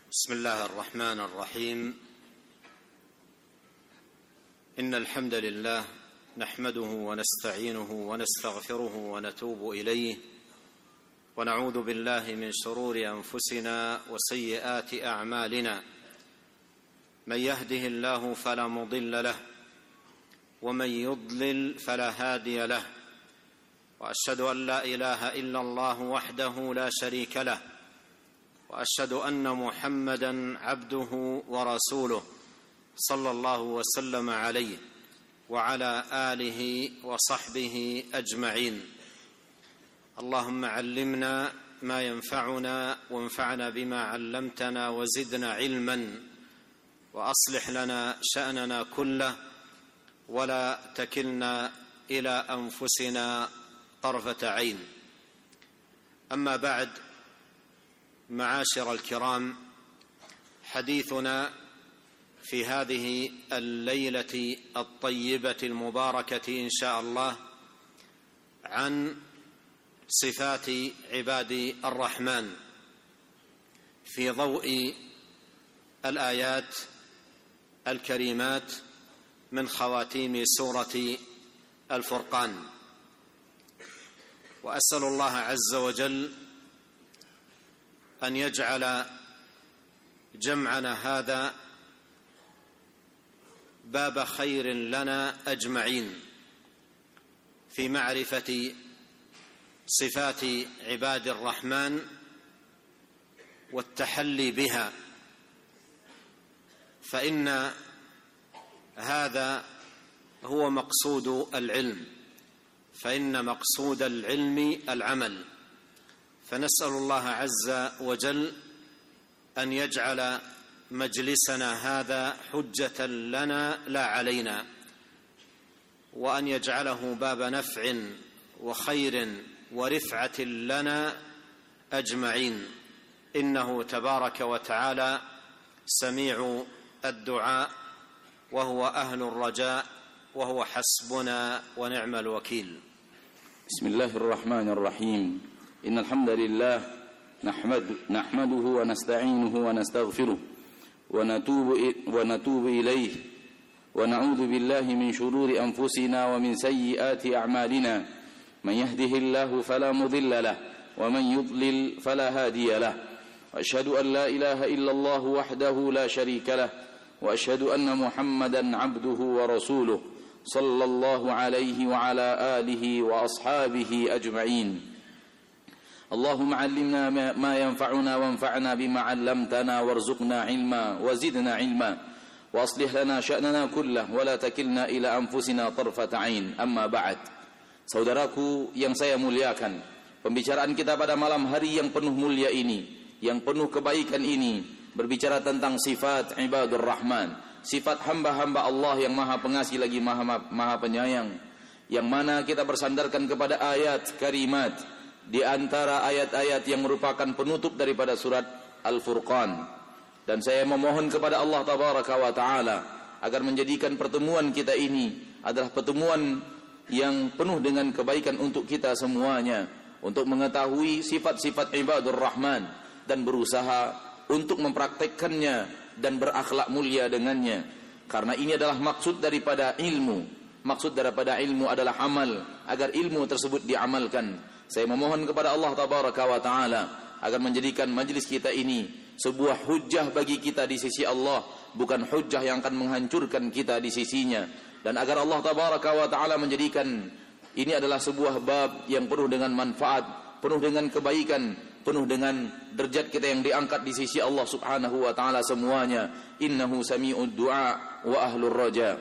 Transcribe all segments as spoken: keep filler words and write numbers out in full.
بسم الله الرحمن الرحيم. إن الحمد لله نحمده ونستعينه ونستغفره ونتوب إليه، ونعوذ بالله من شرور أنفسنا وسيئات أعمالنا. من يهده الله فلا مضل له، ومن يضلل فلا هادي له، وأشهد أن لا إله إلا الله وحده لا شريك له، وأشهد أن محمدًا عبده ورسوله صلى الله وسلم عليه وعلى آله وصحبه أجمعين. اللهم علمنا ما ينفعنا وانفعنا بما علمتنا وزدنا علما، وأصلح لنا شأننا كله ولا تكلنا إلى أنفسنا طرفة عين. أما بعد، معاشر الكرام، حديثنا في هذه الليلة الطيبة المباركة إن شاء الله عن صفات عباد الرحمن في ضوء الآيات الكريمات من خواتيم سورة الفرقان. وأسأل الله عز وجل أن يجعل جمعنا هذا باب خير لنا أجمعين في معرفة صفات عباد الرحمن والتحلي بها، فإن هذا هو مقصود العلم، فإن مقصود العلم العمل. فنسأل الله عز وجل أن يجعل مجلسنا هذا حجة لنا لا علينا، وأن يجعله باب نفع وخير ورفعة لنا أجمعين، إنه تبارك وتعالى سميع الدعاء وهو أهل الرجاء وهو حسبنا ونعم الوكيل. بسم الله الرحمن الرحيم. إن الحمد لله نحمد نحمده ونستعينه ونستغفره ونتوب ونتوب إليه، ونعوذ بالله من شرور أنفسنا ومن سيئات أعمالنا. من يهده الله فلا مضل له، ومن يضلل فلا هادي له. وأشهد أن لا إله إلا الله وحده لا شريك له، وأشهد أن محمدًا عبده ورسوله صلى الله عليه وعلى آله وأصحابه أجمعين. اللهم علمنا ما ينفعنا وانفعنا بما علمتنا، وارزقنا علما وزدنا علما، وأصلح لنا شأننا كله ولا تكلنا إلى أنفسنا طرفة عين. Amma ba'd. Saudaraku yang saya muliakan, pembicaraan kita pada malam hari yang penuh mulia ini, yang penuh kebaikan ini, berbicara tentang sifat ibadur rahman, sifat hamba-hamba Allah yang maha pengasih lagi maha, maha penyayang, yang mana kita bersandarkan kepada ayat karimat di antara ayat-ayat yang merupakan penutup daripada surat Al-Furqan. Dan saya memohon kepada Allah Tabaraka wa Ta'ala agar menjadikan pertemuan kita ini adalah pertemuan yang penuh dengan kebaikan untuk kita semuanya, untuk mengetahui sifat-sifat ibadur rahman dan berusaha untuk mempraktekkannya dan berakhlak mulia dengannya. Karena ini adalah maksud daripada ilmu. Maksud daripada ilmu adalah amal, agar ilmu tersebut diamalkan. Saya memohon kepada Allah Tabaraka wa Ta'ala agar menjadikan majlis kita ini sebuah hujjah bagi kita di sisi Allah, bukan hujjah yang akan menghancurkan kita di sisinya. Dan agar Allah Tabaraka wa Ta'ala menjadikan ini adalah sebuah bab yang penuh dengan manfaat, penuh dengan kebaikan, penuh dengan derajat kita yang diangkat di sisi Allah Subhanahu wa Ta'ala semuanya. Innahu sami'ud du'a wa ahlur raja.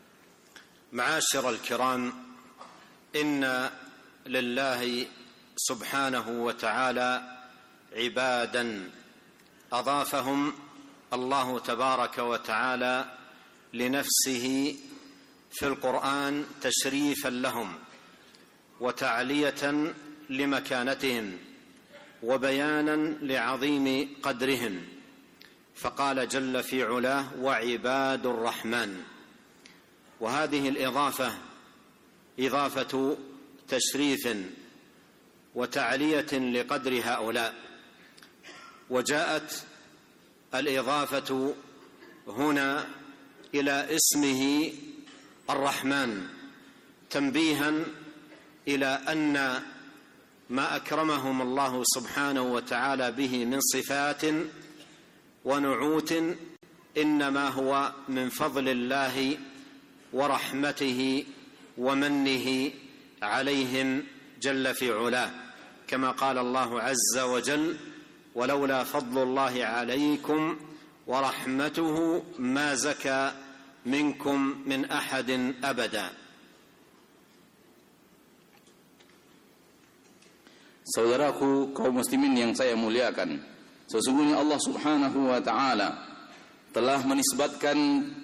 Ma'asyiral kiram, inna لله سبحانه وتعالى عبادا أضافهم الله تبارك وتعالى لنفسه في القرآن تشريفا لهم وتعلية لمكانتهم وبيانا لعظيم قدرهم، فقال جل في علاه: وعباد الرحمن. وهذه الإضافة إضافة تشريف وتعلية لقدر هؤلاء، وجاءت الإضافة هنا إلى اسمه الرحمن تنبيها إلى أن ما أكرمهم الله سبحانه وتعالى به من صفات ونعوت إنما هو من فضل الله ورحمته ومنه عليهم جل في علاه، كما قال الله عز وجل: ولولا فضل الله عليكم ورحمته ما زكى منكم من أحد أبدا. Saudaraku kaum muslimin yang saya muliakan, sesungguhnya Allah Subhanahu wa taala telah menisbatkan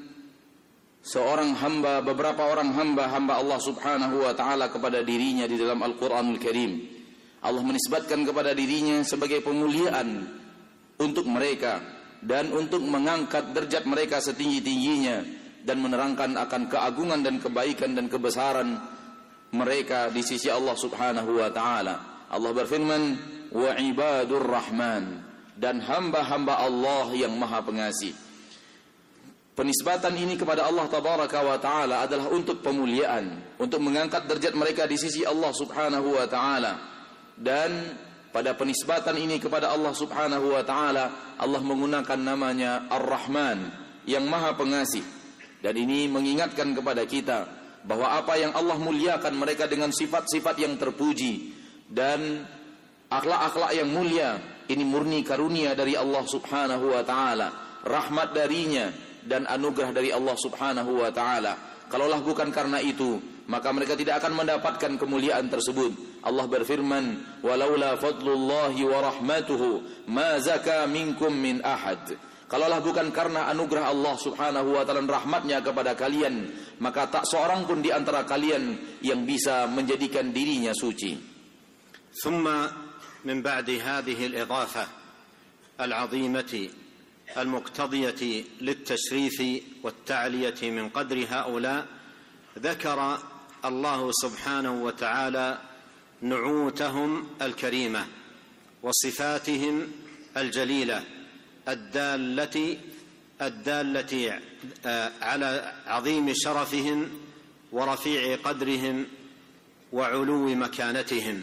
seorang hamba, beberapa orang hamba-hamba Allah Subhanahu wa taala kepada dirinya di dalam Al-Qur'anul Karim. Allah menisbatkan kepada dirinya sebagai pemuliaan untuk mereka dan untuk mengangkat derajat mereka setinggi-tingginya dan menerangkan akan keagungan dan kebaikan dan kebesaran mereka di sisi Allah Subhanahu wa taala. Allah berfirman, wa ibadur rahman, dan hamba-hamba Allah yang maha pengasih. Penisbatan ini kepada Allah tabaraka wa taala adalah untuk pemuliaan, untuk mengangkat derajat mereka di sisi Allah Subhanahu wa taala. Dan pada penisbatan ini kepada Allah Subhanahu wa taala, Allah menggunakan namanya Ar-Rahman, yang maha pengasih. Dan ini mengingatkan kepada kita bahwa apa yang Allah muliakan mereka dengan sifat-sifat yang terpuji dan akhlak-akhlak yang mulia, ini murni karunia dari Allah Subhanahu wa taala, rahmat darinya dan anugerah dari Allah Subhanahu wa taala. Kalaulah bukan karena itu, maka mereka tidak akan mendapatkan kemuliaan tersebut. Allah berfirman, walaula fadlullahi wa rahmatuhu ma zaka minkum min ahad. Kalaulah bukan karena anugerah Allah Subhanahu wa taala dan rahmatnya kepada kalian, maka tak seorang pun di antara kalian yang bisa menjadikan dirinya suci. ثم من بعد هذه الإضافة العظيمة المقتضية للتشريف والتعلية من قدر هؤلاء، ذكر الله سبحانه وتعالى نعوتهم الكريمة وصفاتهم الجليلة الدالة الدالة على عظيم شرفهم ورفيع قدرهم وعلو مكانتهم.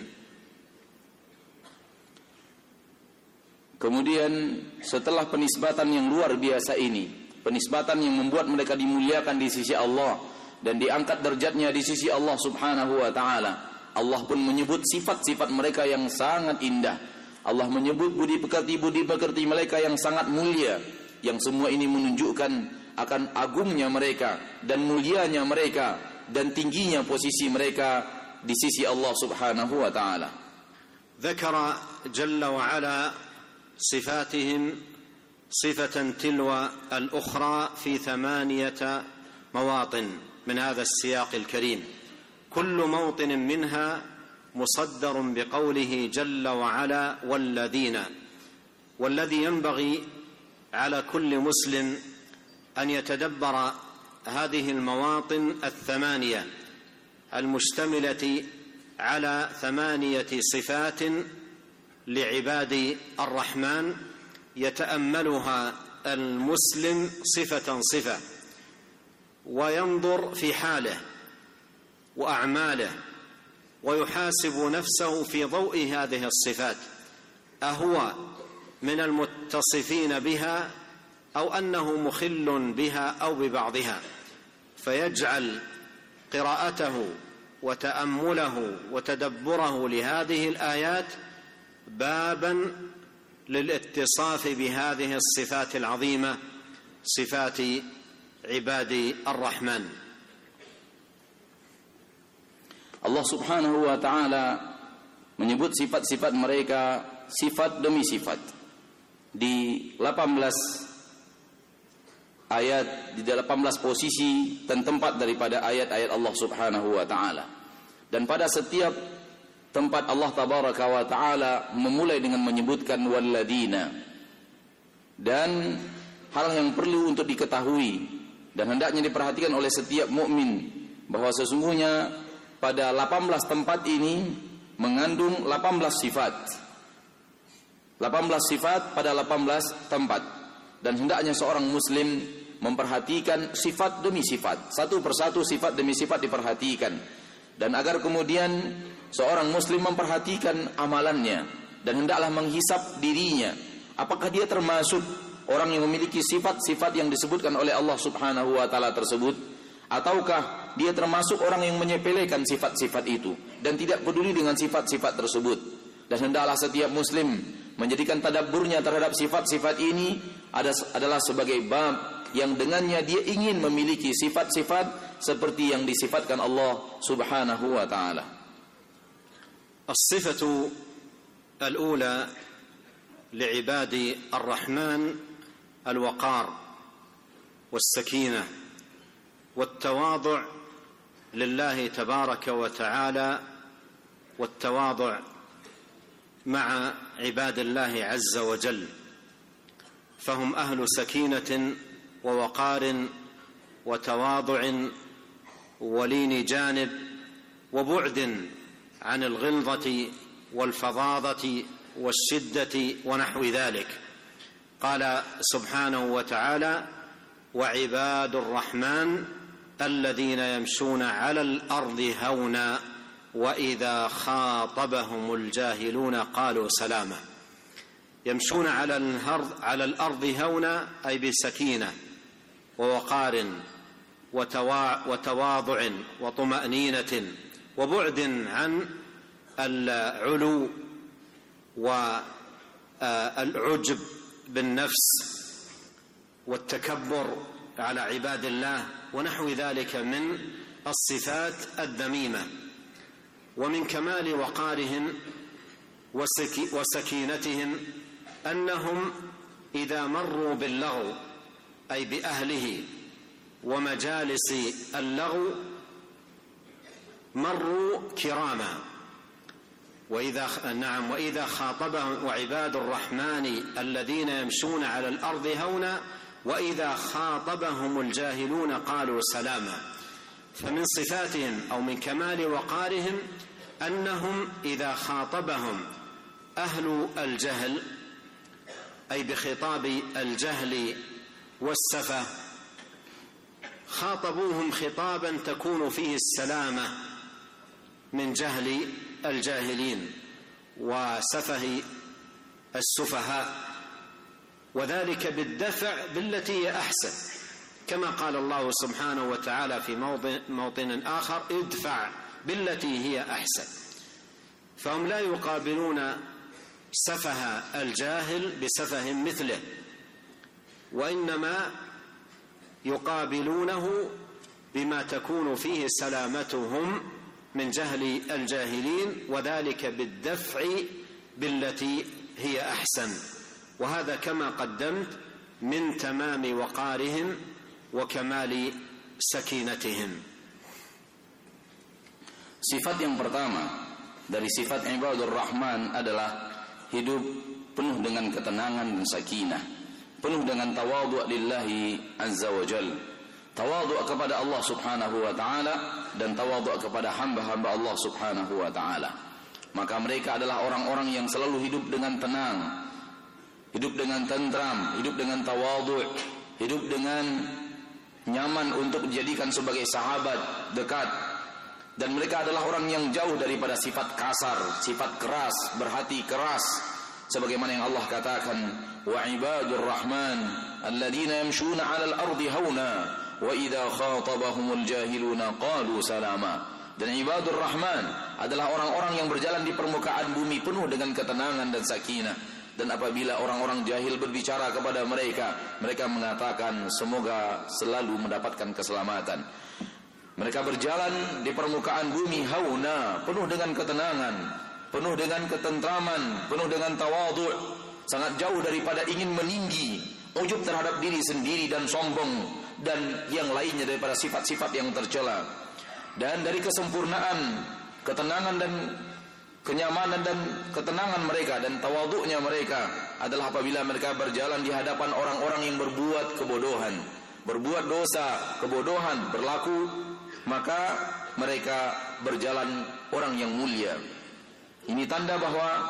Kemudian setelah penisbatan yang luar biasa ini, penisbatan yang membuat mereka dimuliakan di sisi Allah dan diangkat derajatnya di sisi Allah Subhanahu wa taala, Allah pun menyebut sifat-sifat mereka yang sangat indah. Allah menyebut budi pekerti-budi pekerti mereka yang sangat mulia, yang semua ini menunjukkan akan agungnya mereka dan mulianya mereka dan tingginya posisi mereka di sisi Allah Subhanahu wa taala. Dzakara jalla wa ala صفاتهم صفة تلو الأخرى في ثمانية مواطن من هذا السياق الكريم، كل موطن منها مصدر بقوله جل وعلا والذين. والذي ينبغي على كل مسلم أن يتدبر هذه المواطن الثمانية المشتملة على ثمانية صفات لعباد الرحمن، يتأملها المسلم صفة صفة وينظر في حاله وأعماله ويحاسب نفسه في ضوء هذه الصفات، أهو من المتصفين بها أو أنه مخل بها أو ببعضها، فيجعل قراءته وتأمله وتدبره لهذه الآيات بابا للاتصاف بهذه الصفات العظيمة، صفات عباد الرحمن. Allah Subhanahu wa taala menyebut sifat-sifat mereka sifat demi sifat di delapan belas ayat, di delapan belas posisi dan tempat daripada ayat-ayat Allah Subhanahu wa taala. Dan pada setiap tempat Allah tabaraka wa taala memulai dengan menyebutkan walladzina. Dan hal yang perlu untuk diketahui dan hendaknya diperhatikan oleh setiap mukmin bahwa sesungguhnya pada delapan belas tempat ini mengandung delapan belas sifat. delapan belas sifat pada delapan belas tempat. Dan hendaknya seorang muslim memperhatikan sifat demi sifat, satu persatu sifat demi sifat diperhatikan. Dan agar kemudian seorang muslim memperhatikan amalannya dan hendaklah menghisap dirinya, apakah dia termasuk orang yang memiliki sifat-sifat yang disebutkan oleh Allah Subhanahu wa taala tersebut, ataukah dia termasuk orang yang menyepelekan sifat-sifat itu dan tidak peduli dengan sifat-sifat tersebut. Dan hendaklah setiap muslim menjadikan tadabburnya terhadap sifat-sifat ini adalah sebagai bab yang dengannya dia ingin memiliki sifat-sifat seperti yang disifatkan Allah Subhanahu wa taala. As-sifatu al-ula li'ibadi ar-Rahman al-waqar was-sakinah wat-tawadhu' lillahi tabaraka wa ta'ala wat-tawadhu' مع عباد الله عز وجل، فهم أهل سكينة ووقار وتواضع ولين جانب وبعد عن الغلظة والفظاظة والشدة ونحو ذلك. قال سبحانه وتعالى: وعباد الرحمن الذين يمشون على الأرض هونا وإذا خاطبهم الجاهلون قالوا سلاما. يمشون على الأرض على الأرض هونا أي بسكينة ووقار وتواضع وطمأنينة وبعد عن العلو والعجب بالنفس والتكبر على عباد الله ونحو ذلك من الصفات الذميمة. ومن كمال وقارهم وسكينتهم أنهم إذا مروا باللغو أي بأهله ومجالس اللغو مروا كراما. وإذا نعم وإذا خاطبهم وعباد الرحمن الذين يمشون على الأرض هونا وإذا خاطبهم الجاهلون قالوا سلاما. فمن صفاتهم أو من كمال وقارهم أنهم إذا خاطبهم أهل الجهل أي بخطاب الجهل والسفة خاطبوهم خطابا تكون فيه السلامة من جهل الجاهلين وسفه السفهاء، وذلك بالدفع بالتي هي أحسن، كما قال الله سبحانه وتعالى في موطن, موطن آخر: ادفع بالتي هي أحسن. فهم لا يقابلون سفه الجاهل بسفه مثله، وإنما يقابلونه بما تكون فيه سلامتهم من جهل الجاهلين، وذلك بالدفع بالتي هي أحسن. وهذا كما قدمت من تمام وقارهم وكمال سكينتهم. Sifat yang pertama dari sifat ibadur rahman adalah hidup penuh dengan ketenangan dan sakinah, penuh dengan tawadhu' lillahi azza wa jal, tawadhu' kepada Allah subhanahu wa ta'ala dan tawadhu' kepada hamba-hamba Allah subhanahu wa ta'ala. Maka mereka adalah orang-orang yang selalu hidup dengan tenang, hidup dengan tentram, hidup dengan tawadhu', hidup dengan nyaman untuk dijadikan sebagai sahabat dekat. Dan mereka adalah orang yang jauh daripada sifat kasar, sifat keras, berhati keras, sebagaimana yang Allah katakan: wa ibadur rahman alladzina yamshuna 'alal ardi hauna wa idza khatabahumul jahiluna qalu salama. Dan ibadur rahman adalah orang-orang yang berjalan di permukaan bumi penuh dengan ketenangan dan sakinah. Dan apabila orang-orang jahil berbicara kepada mereka, mereka mengatakan semoga selalu mendapatkan keselamatan. Mereka berjalan di permukaan bumi hauna, penuh dengan ketenangan, penuh dengan ketentraman, penuh dengan tawadhu', sangat jauh daripada ingin meninggi, ujub terhadap diri sendiri dan sombong dan yang lainnya daripada sifat-sifat yang tercela. Dan dari kesempurnaan, ketenangan dan kenyamanan dan ketenangan mereka dan tawadhu'nya mereka adalah apabila mereka berjalan di hadapan orang-orang yang berbuat kebodohan, berbuat dosa, kebodohan, berlaku, maka mereka berjalan orang yang mulia. Ini tanda bahwa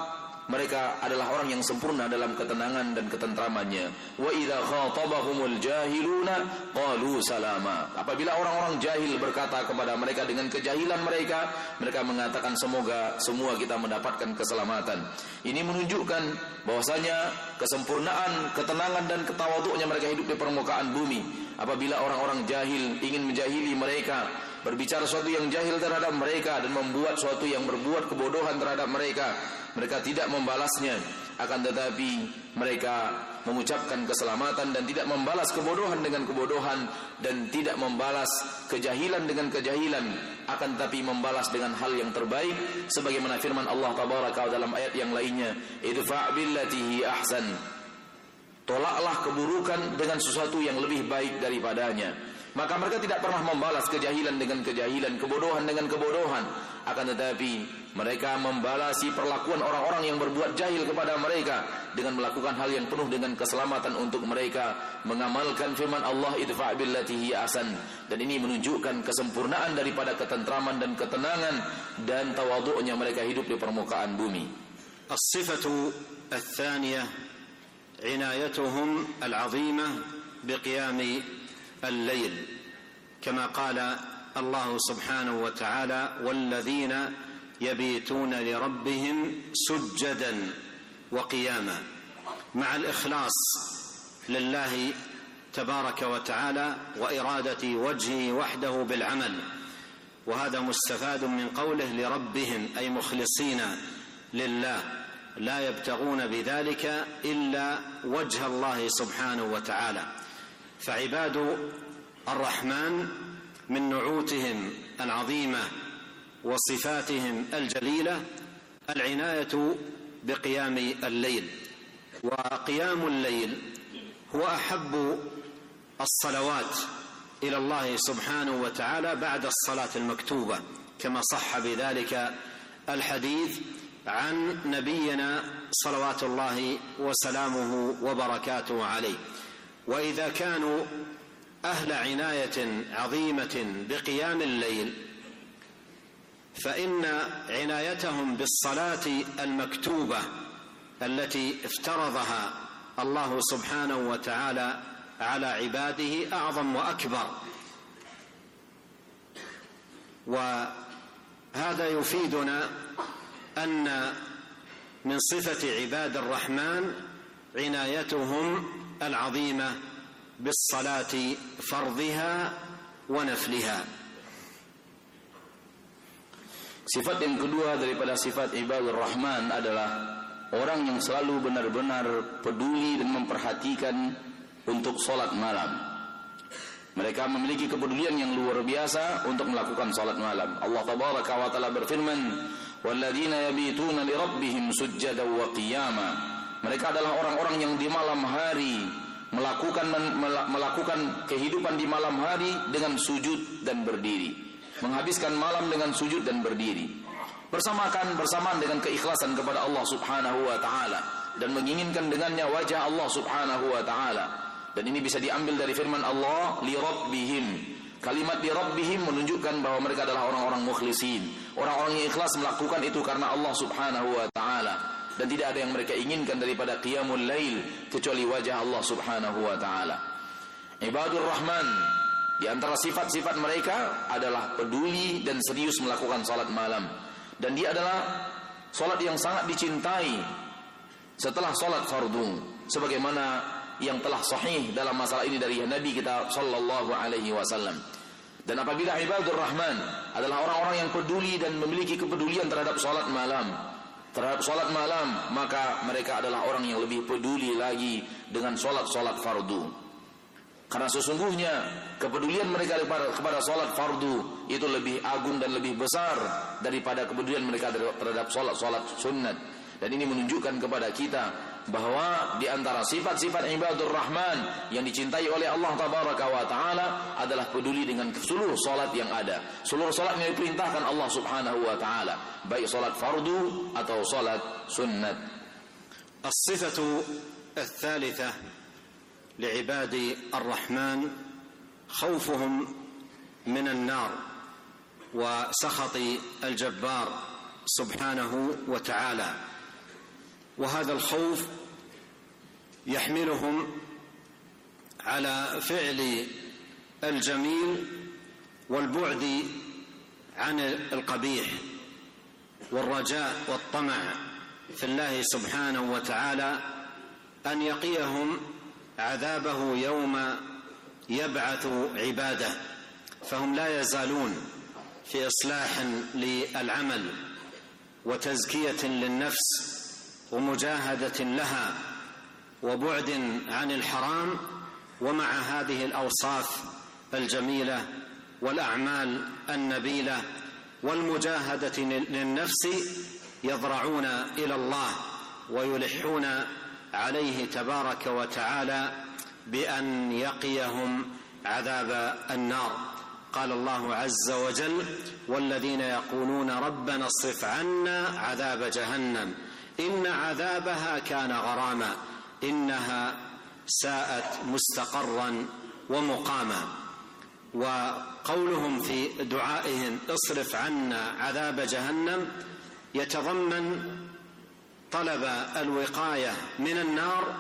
mereka adalah orang yang sempurna dalam ketenangan dan ketentramannya. Wa idza khatabahumul jahiluna qalu salama. Apabila orang-orang jahil berkata kepada mereka dengan kejahilan mereka, mereka mengatakan semoga semua kita mendapatkan keselamatan. Ini menunjukkan bahwasanya kesempurnaan, ketenangan dan ketawadhu'nya mereka hidup di permukaan bumi. Apabila orang-orang jahil ingin menjahili mereka, berbicara sesuatu yang jahil terhadap mereka dan membuat sesuatu yang berbuat kebodohan terhadap mereka, mereka tidak membalasnya, akan tetapi mereka mengucapkan keselamatan dan tidak membalas kebodohan dengan kebodohan dan tidak membalas kejahilan dengan kejahilan, akan tetapi membalas dengan hal yang terbaik sebagaimana firman Allah tabaraka dalam ayat yang lainnya, idfa' billati hi ahsan. Tolaklah keburukan dengan sesuatu yang lebih baik daripadanya. Maka mereka tidak pernah membalas kejahilan dengan kejahilan, kebodohan dengan kebodohan, akan tetapi mereka membalasi perlakuan orang-orang yang berbuat jahil kepada mereka dengan melakukan hal yang penuh dengan keselamatan untuk mereka, mengamalkan firman Allah idfa' billati hi ahsan. Dan ini menunjukkan kesempurnaan daripada ketentraman dan ketenangan dan tawadhu'nya mereka hidup di permukaan bumi. As-sifatu ats-tsaniyah inayatuhum al-'azimah biqiyami الليل كما قال الله سبحانه وتعالى والذين يبيتون لربهم سجدا وقياما مع الإخلاص لله تبارك وتعالى وإرادة وجهه وحده بالعمل. وهذا مستفاد من قوله لربهم أي مخلصين لله لا يبتغون بذلك إلا وجه الله سبحانه وتعالى. فعباد الرحمن من نعوتهم العظيمة وصفاتهم الجليلة العناية بقيام الليل. وقيام الليل هو أحب الصلوات إلى الله سبحانه وتعالى بعد الصلاة المكتوبة كما صح بذلك الحديث عن نبينا صلوات الله وسلامه وبركاته عليه. وإذا كانوا أهل عناية عظيمة بقيام الليل فإن عنايتهم بالصلاة المكتوبة التي افترضها الله سبحانه وتعالى على عباده أعظم وأكبر. وهذا يفيدنا أن من صفة عباد الرحمن عنايتهم العظيمة بالصلاة فرضها ونفلها. Sifat yang kedua daripada sifat ibadur rahman adalah orang yang selalu benar-benar peduli dan memperhatikan untuk salat malam. Mereka memiliki kepedulian yang luar biasa untuk melakukan salat malam. Allah tabaraka wa taala berfirman, "Walladzina yabituna li rabbihim sujjadan wa qiyama." Mereka adalah orang-orang yang di malam hari melakukan melakukan kehidupan di malam hari dengan sujud dan berdiri, menghabiskan malam dengan sujud dan berdiri, bersamakan bersamaan dengan keikhlasan kepada Allah Subhanahu wa taala dan menginginkan dengannya wajah Allah Subhanahu wa taala. Dan ini bisa diambil dari firman Allah li rabbihim. Kalimat li rabbihim menunjukkan bahwa mereka adalah orang-orang mukhlisin, orang-orang yang ikhlas melakukan itu karena Allah Subhanahu wa taala. Dan tidak ada yang mereka inginkan daripada qiyamul lail kecuali wajah Allah Subhanahu wa taala. Ibadur Rahman, di antara sifat-sifat mereka adalah peduli dan serius melakukan salat malam. Dan dia adalah salat yang sangat dicintai setelah salat fardu, sebagaimana yang telah sahih dalam masalah ini dari Nabi kita sallallahu alaihi wasallam. Dan apabila ibadur Rahman adalah orang-orang yang peduli dan memiliki kepedulian terhadap salat malam, terhadap salat malam, maka mereka adalah orang yang lebih peduli lagi dengan salat-salat fardu. Karena sesungguhnya kepedulian mereka kepada, kepada salat fardu itu lebih agung dan lebih besar daripada kepedulian mereka terhadap salat-salat sunnat. Dan ini menunjukkan kepada kita bahwa di antara sifat-sifat ibadur Rahman yang dicintai oleh Allah Tabaraka wa Ta'ala adalah peduli dengan seluruh salat yang ada, seluruh salat yang diperintahkan Allah Subhanahu wa Ta'ala, baik salat fardu atau salat sunnat. As-sifatu ats-tsalitsah li'ibadi ar-Rahman khawfuhum min an-nar wa sakhati al-Jabbar subhanahu wa ta'ala. وهذا الخوف يحملهم على فعل الجميل والبعد عن القبيح، والرجاء والطمع في الله سبحانه وتعالى أن يقيهم عذابه يوم يبعث عباده، فهم لا يزالون في إصلاح للعمل وتزكية للنفس ومجاهدة لها وبعد عن الحرام، ومع هذه الأوصاف الجميلة والأعمال النبيلة والمجاهدة للنفس يضرعون إلى الله ويلحون عليه تبارك وتعالى بأن يقيهم عذاب النار. قال الله عز وجل: والذين يقولون ربنا اصرف عنا عذاب جهنم إن عذابها كان غراما إنها ساءت مستقرا ومقاما. وقولهم في دعائهم اصرف عنا عذاب جهنم يتضمن طلب الوقاية من النار،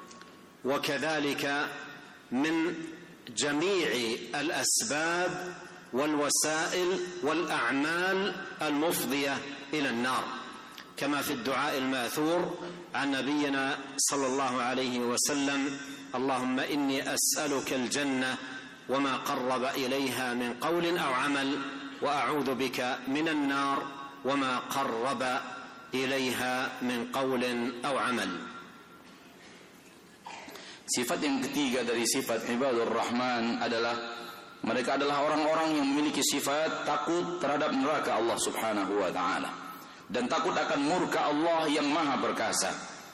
وكذلك من جميع الأسباب والوسائل والأعمال المفضية إلى النار، كما في الدعاء الماثور عن نبينا صلى الله عليه وسلم: اللهم إني أسألك الجنة وما قرب إليها من قول أو عمل، وأعوذ بك من النار وما قرب إليها من قول أو عمل. Sifat yang ketiga dari sifat ibadur rahman adalah mereka adalah orang-orang yang memiliki sifat takut terhadap neraka Allah subhanahu wa ta'ala dan takut akan murka Allah yang maha perkasa.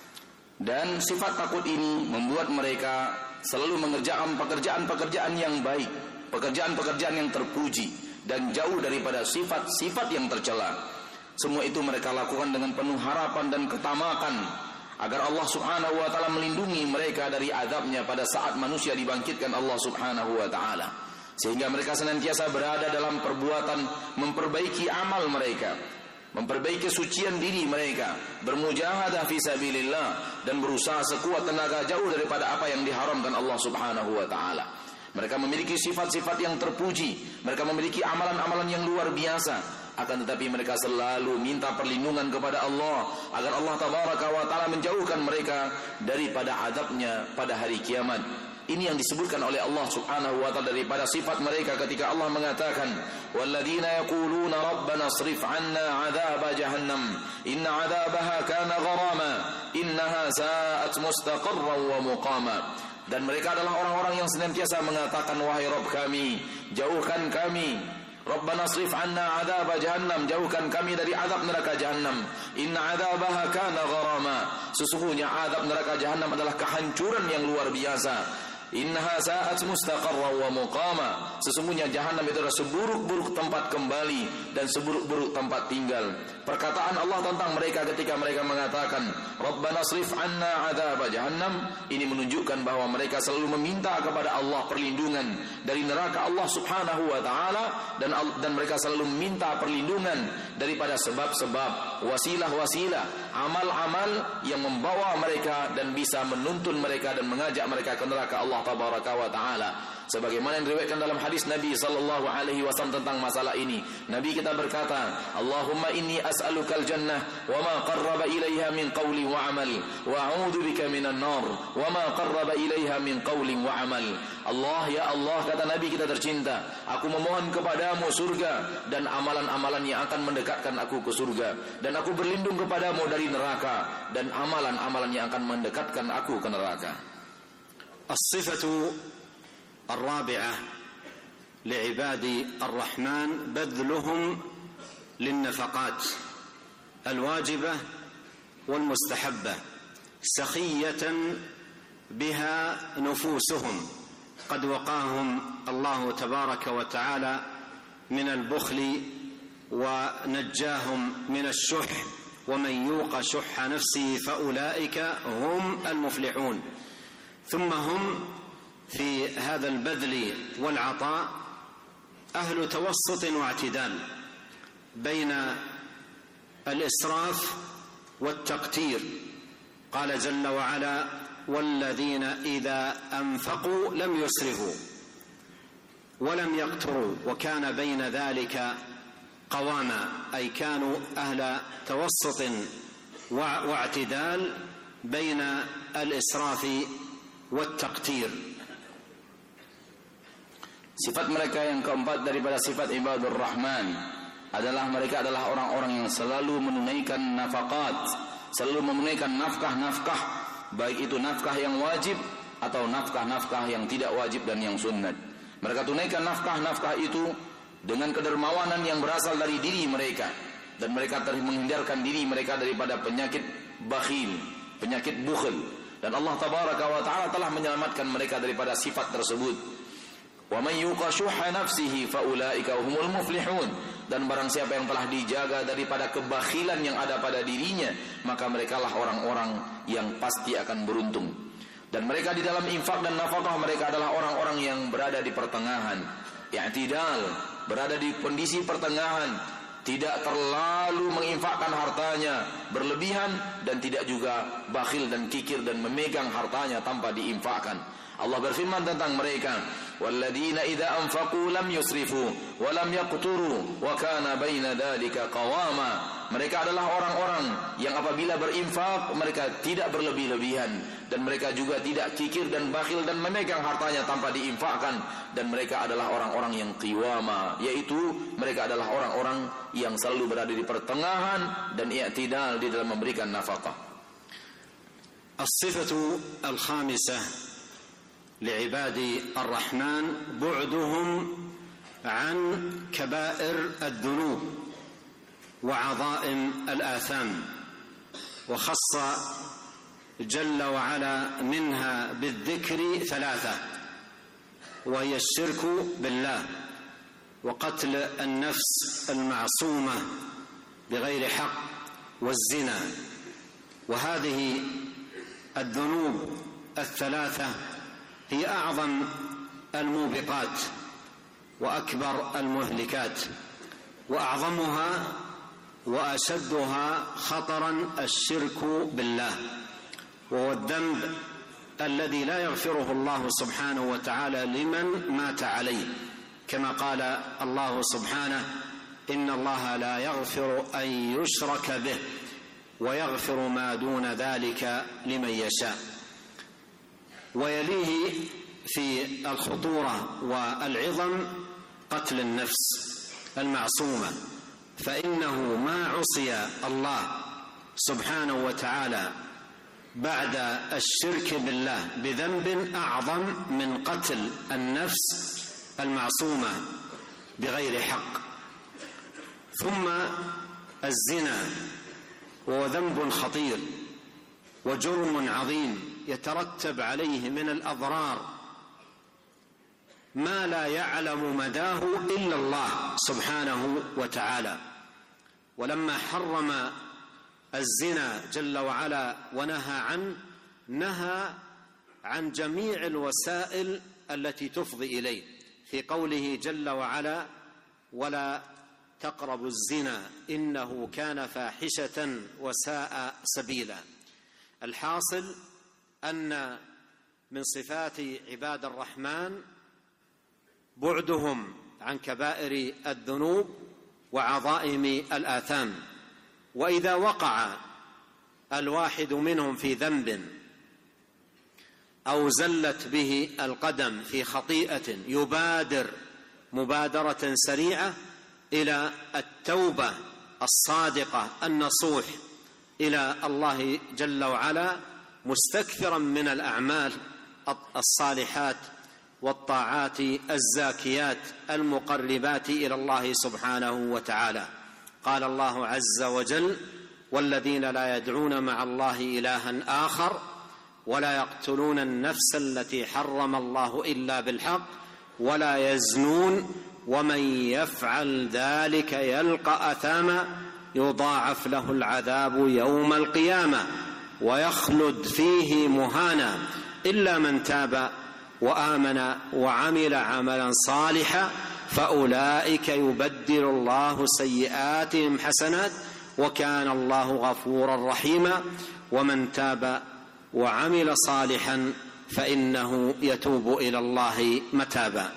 Dan sifat takut ini membuat mereka selalu mengerjakan pekerjaan-pekerjaan yang baik, pekerjaan-pekerjaan yang terpuji, dan jauh daripada sifat-sifat yang tercela. Semua itu mereka lakukan dengan penuh harapan dan ketamakan agar Allah subhanahu wa ta'ala melindungi mereka dari azabnya pada saat manusia dibangkitkan Allah subhanahu wa ta'ala. Sehingga mereka senantiasa berada dalam perbuatan memperbaiki amal mereka, memperbaiki kesucian diri mereka, bermujahadah fi sabilillah, dan berusaha sekuat tenaga jauh daripada apa yang diharamkan Allah subhanahu wa ta'ala. Mereka memiliki sifat-sifat yang terpuji, mereka memiliki amalan-amalan yang luar biasa. Akan tetapi mereka selalu minta perlindungan kepada Allah agar Allah tabaraka wa ta'ala menjauhkan mereka daripada azabnya pada hari kiamat. Ini yang disebutkan oleh Allah subhanahu wa ta'ala daripada sifat mereka ketika Allah mengatakan: walladzina yaquluna rabbana asrif 'anna 'adzaba jahannam inna 'adzabaha kana gharama innaha sa'at mustaqarran wa muqama. Dan mereka adalah orang-orang yang senantiasa mengatakan: wahai Rabb kami, jauhkan kami, Rabbana asrif 'anna 'adzaba jahannam, jauhkan kami dari azab neraka jahannam. Inna 'adzabaha kana gharama, sesungguhnya azab neraka jahannam adalah kehancuran yang luar biasa. Innaha sa'at mustaqarra wa muqama, sesungguhnya jahannam itu adalah seburuk-buruk tempat kembali dan seburuk-buruk tempat tinggal. Perkataan Allah tentang mereka ketika mereka mengatakan Rabbana asrif 'anna 'adzaba jahannam, ini menunjukkan bahwa mereka selalu meminta kepada Allah perlindungan dari neraka Allah subhanahu wa ta'ala, dan dan mereka selalu meminta perlindungan daripada sebab-sebab, wasilah-wasilah, amal-amal yang membawa mereka dan bisa menuntun mereka dan mengajak mereka ke neraka Allah tabaraka wa ta'ala. Sebagaimana yang diriwayatkan dalam hadis Nabi sallallahu alaihi wasallam tentang masalah ini, Nabi kita berkata, Allahumma inni as'alukal jannah wa ma qarraba ilaiha min qawli wa amal, wa a'udzu bika minan nar wa ma qarraba ilaiha min qawli wa amal. Allah, ya Allah, kata Nabi kita tercinta, aku memohon kepadamu surga dan amalan-amalan yang akan mendekatkan aku ke surga, dan aku berlindung kepadamu dari neraka dan amalan-amalan yang akan mendekatkan aku ke neraka. الصفة الرابعة لعباد الرحمن بذلهم للنفقات الواجبة والمستحبة سخية بها نفوسهم، قد وقاهم الله تبارك وتعالى من البخل ونجاهم من الشح، ومن يوق شح نفسه فأولئك هم المفلحون. ثم هم في هذا البذل والعطاء أهل توسط واعتدال بين الإسراف والتقتير قال جل وعلا: والذين إذا أنفقوا لم يسرفوا ولم يقتروا وكان بين ذلك قواما، أي كانوا أهل توسط واعتدال بين الإسراف والتقتير. Sifat mereka yang keempat daripada sifat ibadur rahman adalah mereka adalah orang-orang yang selalu menunaikan nafaqat, selalu menunaikan nafkah-nafkah, baik itu nafkah yang wajib atau nafkah-nafkah yang tidak wajib dan yang sunnat. Mereka tunaikan nafkah-nafkah itu dengan kedermawanan yang berasal dari diri mereka, dan mereka telah menghindarkan diri mereka daripada penyakit bakhil, penyakit bukhl, dan Allah tabaraka wa taala telah menyelamatkan mereka daripada sifat tersebut. Wa man yuqa syuhha nafsihi fa ulaika humul muflihun. Dan barang siapa yang telah dijaga daripada kebakhilan yang ada pada dirinya, maka merekalah orang-orang yang pasti akan beruntung. Dan mereka di dalam infak dan nafkah mereka adalah orang-orang yang berada di pertengahan, i'tidal, berada di kondisi pertengahan, tidak terlalu menginfakkan hartanya berlebihan dan tidak juga bakhil dan kikir dan memegang hartanya tanpa diinfakkan. Allah berfirman tentang mereka, walladzina idza anfaqu lam yusrifu wa lam yaqturu wa kana baina dzalika qawama. Mereka adalah orang-orang yang apabila berinfak mereka tidak berlebih-lebihan, dan mereka juga tidak kikir dan bakhil dan memegang hartanya tanpa diinfakkan, dan mereka adalah orang-orang yang qiwama, yaitu mereka adalah orang-orang yang selalu berada di pertengahan dan i'tidal di dalam memberikan nafkah. As-sifatu al-khamisah لعباد الرحمن بعدهم عن كبائر الذنوب وعظائم الآثام، وخص جل وعلا منها بالذكر ثلاثة، وهي الشرك بالله، وقتل النفس المعصومة بغير حق، والزنا. وهذه الذنوب الثلاثة هي أعظم الموبقات وأكبر المهلكات، وأعظمها وأشدها خطرا الشرك بالله، وهو الذنب الذي لا يغفره الله سبحانه وتعالى لمن مات عليه، كما قال الله سبحانه: إن الله لا يغفر أن يشرك به ويغفر ما دون ذلك لمن يشاء. ويليه في الخطورة والعظم قتل النفس المعصومة، فإنه ما عصي الله سبحانه وتعالى بعد الشرك بالله بذنب أعظم من قتل النفس المعصومة بغير حق. ثم الزنا، وهو ذنب خطير وجرم عظيم يترتب عليه من الأضرار ما لا يعلم مداه إلا الله سبحانه وتعالى. ولما حرم الزنا جل وعلا ونهى عنه، نهى عن جميع الوسائل التي تفضي إليه، في قوله جل وعلا: ولا تقربوا الزنا إنه كان فاحشة وساء سبيلا. الحاصل أن من صفات عباد الرحمن بعدهم عن كبائر الذنوب وعظائم الآثام، وإذا وقع الواحد منهم في ذنب أو زلت به القدم في خطيئة يبادر مبادرة سريعة إلى التوبة الصادقة النصوح إلى الله جل وعلا، مستكثرا من الأعمال الصالحات والطاعات الزاكيات المقربات إلى الله سبحانه وتعالى. قال الله عز وجل: والذين لا يدعون مع الله إلها آخر ولا يقتلون النفس التي حرم الله إلا بالحق ولا يزنون ومن يفعل ذلك يلقى أثاما يضاعف له العذاب يوم القيامة ويخلد فيه مهانا إلا من تاب وآمن وعمل عملا صالحا فأولئك يبدل الله سيئاتهم حسنات وكان الله غفورا رحيما. ومن تاب وعمل صالحا فإنه يتوب إلى الله متابا.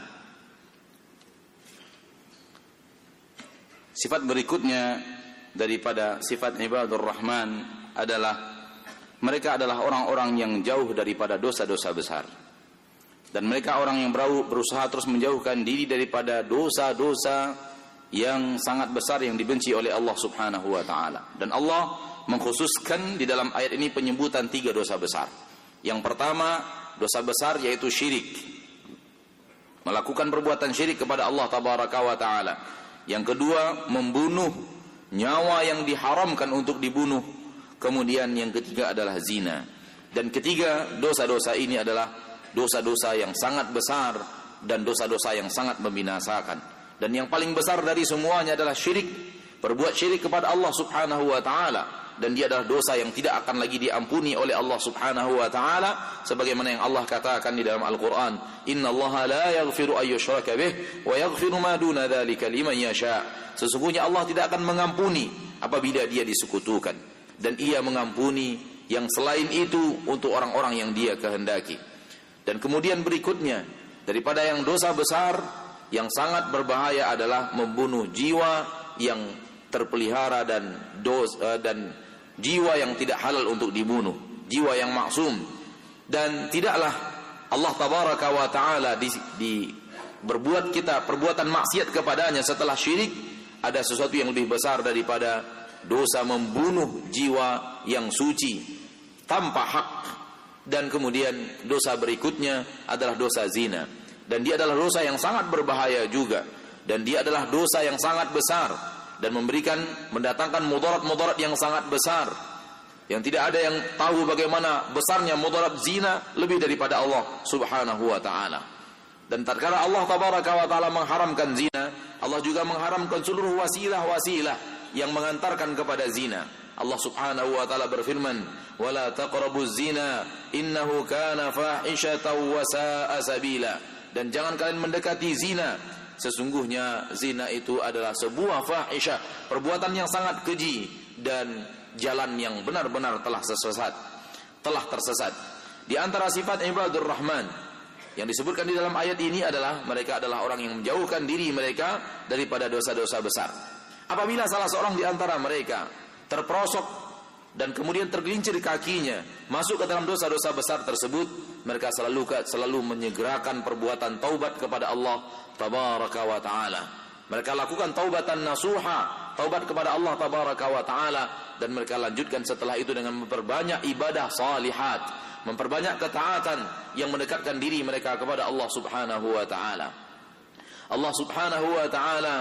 Sifat berikutnya daripada sifat ibadur rahman adalah mereka adalah orang-orang yang jauh daripada dosa-dosa besar. Dan mereka orang yang berusaha terus menjauhkan diri daripada dosa-dosa yang sangat besar yang dibenci oleh Allah Subhanahu wa taala. Dan Allah mengkhususkan di dalam ayat ini penyebutan tiga dosa besar. Yang pertama, dosa besar yaitu syirik. Melakukan perbuatan syirik kepada Allah tabaraka wa taala. Yang kedua, membunuh nyawa yang diharamkan untuk dibunuh. Kemudian yang ketiga adalah zina. Dan ketiga, dosa-dosa ini adalah dosa-dosa yang sangat besar dan dosa-dosa yang sangat membinasakan. Dan yang paling besar dari semuanya adalah syirik. Berbuat syirik kepada Allah Subhanahu wa taala, dan dia adalah dosa yang tidak akan lagi diampuni oleh Allah Subhanahu wa taala, sebagaimana yang Allah katakan di dalam Al-Qur'an, innallaha la yaghfiru ay yushraka bih wa yaghfiru ma duna dzalika liman yasha. Sesungguhnya Allah tidak akan mengampuni apabila dia disekutukan, dan ia mengampuni yang selain itu untuk orang-orang yang dia kehendaki. Dan kemudian berikutnya daripada yang dosa besar yang sangat berbahaya adalah membunuh jiwa yang terpelihara dan dosa, dan jiwa yang tidak halal untuk dibunuh, jiwa yang maksum. Dan tidaklah Allah tabaraka wa taala di, di berbuat kita perbuatan maksiat kepadanya setelah syirik ada sesuatu yang lebih besar daripada dosa membunuh jiwa yang suci tanpa hak. Dan kemudian dosa berikutnya adalah dosa zina, dan dia adalah dosa yang sangat berbahaya juga, dan dia adalah dosa yang sangat besar dan memberikan mendatangkan mudarat-mudarat yang sangat besar, yang tidak ada yang tahu bagaimana besarnya mudarat zina lebih daripada Allah Subhanahu wa taala. Dan tatkala Allah tabaraka wa taala mengharamkan zina, Allah juga mengharamkan seluruh wasilah-wasilah yang mengantarkan kepada zina. Allah Subhanahu wa taala berfirman, "Wala taqrabuz zina, innahu kana fahishatan wa sa'a sabila." Dan jangan kalian mendekati zina, sesungguhnya zina itu adalah sebuah fahisyah, perbuatan yang sangat keji dan jalan yang benar-benar telah sesat, telah tersesat. Di antara sifat ibadur rahman yang disebutkan di dalam ayat ini adalah mereka adalah orang yang menjauhkan diri mereka daripada dosa-dosa besar. Apabila salah seorang di antara mereka terperosok dan kemudian tergelincir kakinya masuk ke dalam dosa-dosa besar tersebut, mereka selalu selalu menyegerakan perbuatan taubat kepada Allah tabaraka wa taala. Mereka lakukan taubatan nasuha, taubat kepada Allah tabaraka wa taala, dan mereka lanjutkan setelah itu dengan memperbanyak ibadah salihat, memperbanyak ketaatan yang mendekatkan diri mereka kepada Allah Subhanahu wa taala. Allah Subhanahu wa taala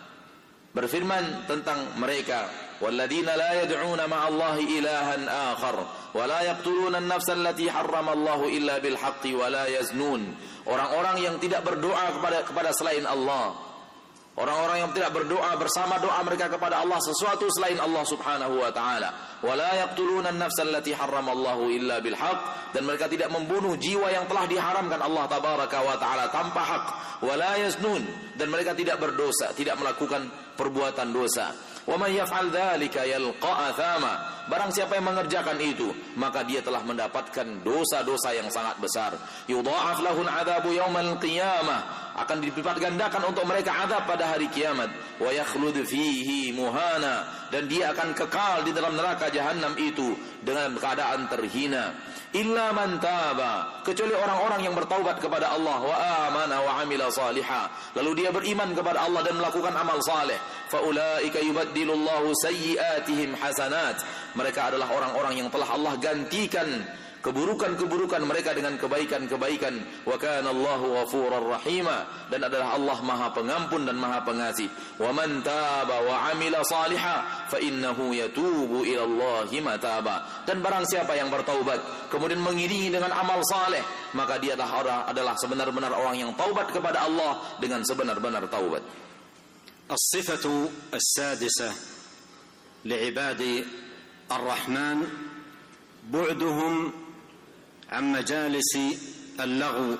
berfirman tentang mereka, وَالَّذِينَ لَا يَدْعُونَ مَعَ اللَّهِ إِلَٰهًا آخَرَ وَلَا يَقْتُلُونَ النَّفْسَ الَّتِي حَرَّمَ اللَّهُ إِلَّا بِالْحَقِّ وَلَا يَزْنُونَ. Orang-orang yang tidak berdoa kepada kepada selain Allah, orang-orang yang tidak berdoa bersama doa mereka kepada Allah sesuatu selain Allah Subhanahu wa taala. وَلَا يَقْتُلُونَ النَّفْسَ الَّتِي حَرَّمَ اللَّهُ إِلَّا بِالْحَقِّ. Dan mereka tidak membunuh jiwa yang telah diharamkan Allah tabaraka wa taala tanpa hak. وَلَا يَزْنُونَ. Dan mereka tidak berdosa, tidak melakukan perbuatan dosa. وَمَنْ يَفْعَلْ ذَلِكَ يَلْقَى أَثَامًا. Barang siapa yang mengerjakan itu, maka dia telah mendapatkan dosa-dosa yang sangat besar. يُضَاعَفْ لَهُ الْعَذَابُ يَوْمَ الْقِيَامَةِ. Akan dilipat gandakan untuk mereka azab pada hari kiamat. وَيَخْلُدْ فِيهِ مُهَانًا. Dan dia akan kekal di dalam neraka jahanam itu dengan keadaan terhina. Illa man taba, kecuali orang-orang yang bertaubat kepada Allah, wa amana wa amila salihah, lalu dia beriman kepada Allah dan melakukan amal saleh, fa ulaika yubaddilullahu sayyiatihim hasanat. Mereka adalah orang-orang yang telah Allah gantikan keburukan-keburukan mereka dengan kebaikan-kebaikan. Wa kana Allahu ghafurar rahima. Dan adalah Allah Maha Pengampun dan Maha Pengasih. Wa man taba wa amila salihah fa innahu yatubu ila Allahi mataba. Dan barang siapa yang bertaubat kemudian mengiringi dengan amal saleh, maka dia adalah adalah sebenar-benar orang yang taubat kepada Allah dengan sebenar-benar taubat. As-sifatu as-sadisah li'ibadi ar-Rahman bu'duhum عن مجالس اللغو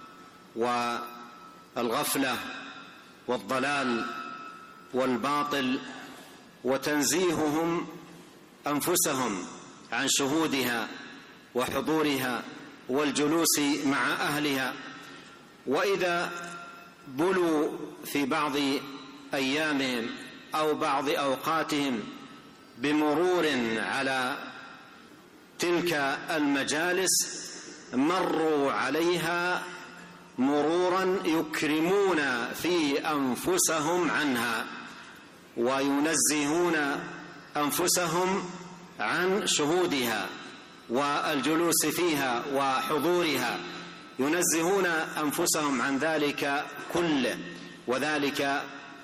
والغفلة والضلال والباطل وتنزيههم أنفسهم عن شهودها وحضورها والجلوس مع أهلها. وإذا بلوا في بعض أيامهم أو بعض أوقاتهم بمرور على تلك المجالس مروا عليها مرورا يكرمون في أنفسهم عنها وينزهون أنفسهم عن شهودها والجلوس فيها وحضورها، ينزهون أنفسهم عن ذلك كله، وذلك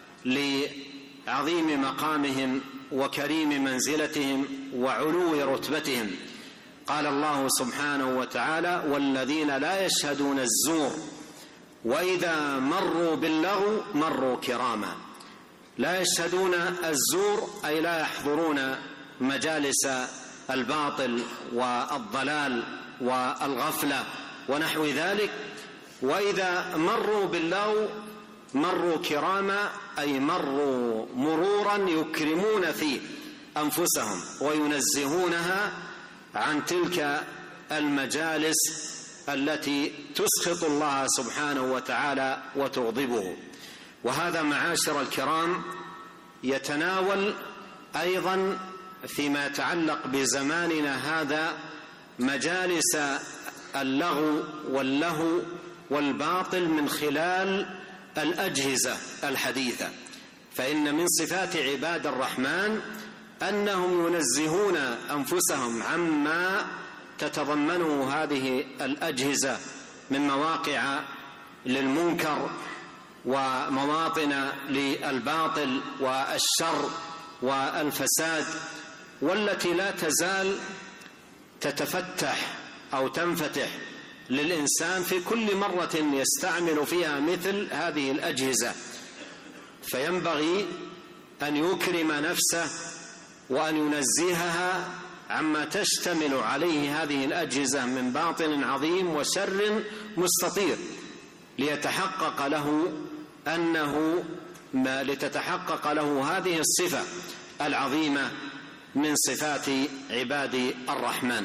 لعظيم مقامهم وكريم منزلتهم وعلو رتبتهم. قال الله سبحانه وتعالى: والذين لا يشهدون الزور وإذا مروا باللغو مروا كراما. لا يشهدون الزور أي لا يحضرون مجالس الباطل والضلال والغفلة ونحو ذلك. وإذا مروا باللغو مروا كراما أي مروا مرورا يكرمون فيه أنفسهم وينزهونها عن تلك المجالس التي تسخط الله سبحانه وتعالى وتغضبه. وهذا معاشر الكرام يتناول أيضا فيما يتعلق بزماننا هذا مجالس اللغو واللهو والباطل من خلال الأجهزة الحديثة. فإن من صفات عباد الرحمن أنهم ينزهون أنفسهم عما تتضمنه هذه الأجهزة من مواقع للمنكر ومواطن للباطل والشر والفساد، والتي لا تزال تتفتح أو تنفتح للإنسان في كل مرة يستعمل فيها مثل هذه الأجهزة. فينبغي أن يكرم نفسه وأن ينزهها عما تشتمل عليه هذه الأجهزة من باطل عظيم وشر مستطير، ليتحقق له أنه ما لتتحقق له هذه الصفة العظيمة من صفات عباد الرحمن.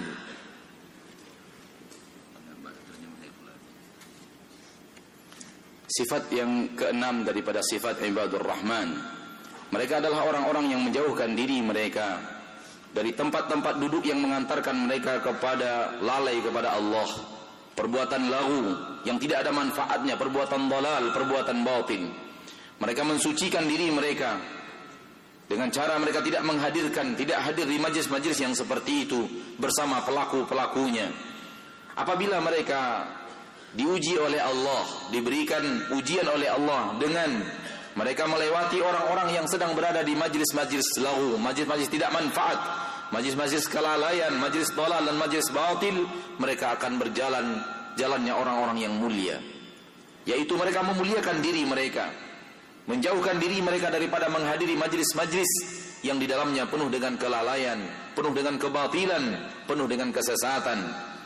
Sifat yang keenam daripada sifat ibadur rahman, mereka adalah orang-orang yang menjauhkan diri mereka dari tempat-tempat duduk yang mengantarkan mereka kepada lalai kepada Allah, perbuatan lagu yang tidak ada manfaatnya, perbuatan dalal, perbuatan batin. Mereka mensucikan diri mereka dengan cara mereka tidak menghadirkan, tidak hadir di majlis-majlis yang seperti itu bersama pelaku-pelakunya. Apabila mereka diuji oleh Allah, diberikan ujian oleh Allah dengan mereka melewati orang-orang yang sedang berada di majlis-majlis lagu, majlis-majlis tidak manfaat, majlis-majlis kelalaian, majlis dalal dan majlis batil, mereka akan berjalan jalannya orang-orang yang mulia, yaitu mereka memuliakan diri mereka, menjauhkan diri mereka daripada menghadiri majlis-majlis yang di dalamnya penuh dengan kelalaian, penuh dengan kebatilan, penuh dengan kesesatan.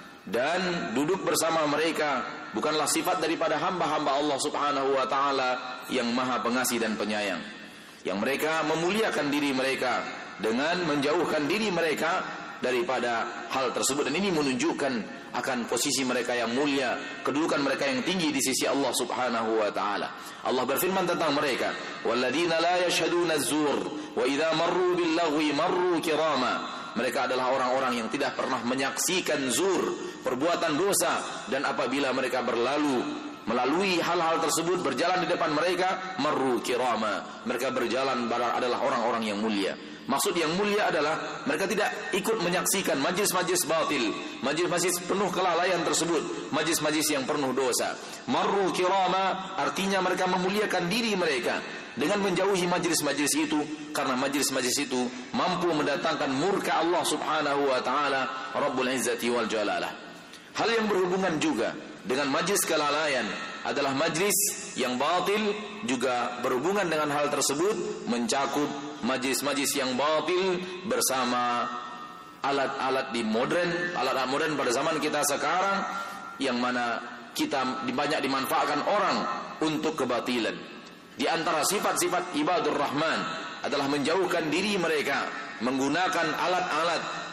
Dan duduk bersama mereka bukanlah sifat daripada hamba-hamba Allah subhanahu wa ta'ala yang maha pengasih dan penyayang. Yang mereka memuliakan diri mereka dengan menjauhkan diri mereka daripada hal tersebut. Dan ini menunjukkan akan posisi mereka yang mulia, kedudukan mereka yang tinggi di sisi Allah subhanahu wa ta'ala. Allah berfirman tentang mereka, walladzina la yashhaduna az-zur wa idza marru bil lagwi marru kirama. Mereka adalah orang-orang yang tidak pernah menyaksikan zur, perbuatan dosa, dan apabila mereka berlalu melalui hal-hal tersebut, berjalan di depan mereka, marru kirama, mereka berjalan adalah orang-orang yang mulia. Maksud yang mulia adalah mereka tidak ikut menyaksikan majlis-majlis batil, majlis-majlis penuh kelalaian tersebut, majlis-majlis yang penuh dosa. Marru kirama artinya mereka memuliakan diri mereka dengan menjauhi majlis-majlis itu, karena majlis-majlis itu mampu mendatangkan murka Allah subhanahu wa ta'ala Rabbul Izzati wal Jalalah. Hal yang berhubungan juga dengan majlis kelalaian adalah majlis yang batil, juga berhubungan dengan hal tersebut, mencakup majlis-majlis yang batil bersama alat-alat di modern, alat-alat modern pada zaman kita sekarang, yang mana kita banyak dimanfaatkan orang untuk kebatilan. Di antara sifat-sifat ibadur rahman adalah menjauhkan diri mereka, menggunakan alat-alat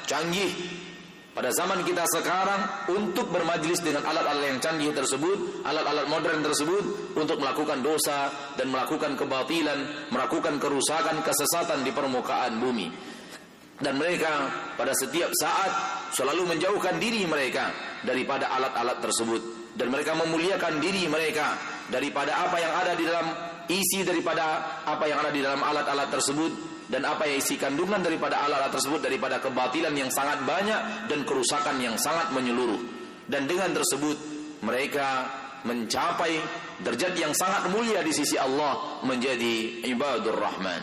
canggih pada zaman kita sekarang untuk bermajlis dengan alat-alat yang canggih tersebut, alat-alat modern tersebut untuk melakukan dosa dan melakukan kebatilan, melakukan kerusakan, kesesatan di permukaan bumi. Dan mereka pada setiap saat selalu menjauhkan diri mereka daripada alat-alat tersebut, dan mereka memuliakan diri mereka daripada apa yang ada di dalam isi daripada apa yang ada di dalam alat-alat tersebut, dan apa yang isi kandungan daripada alat-alat tersebut daripada kebatilan yang sangat banyak dan kerusakan yang sangat menyeluruh. Dan dengan tersebut mereka mencapai derajat yang sangat mulia di sisi Allah, menjadi ibadur rahman.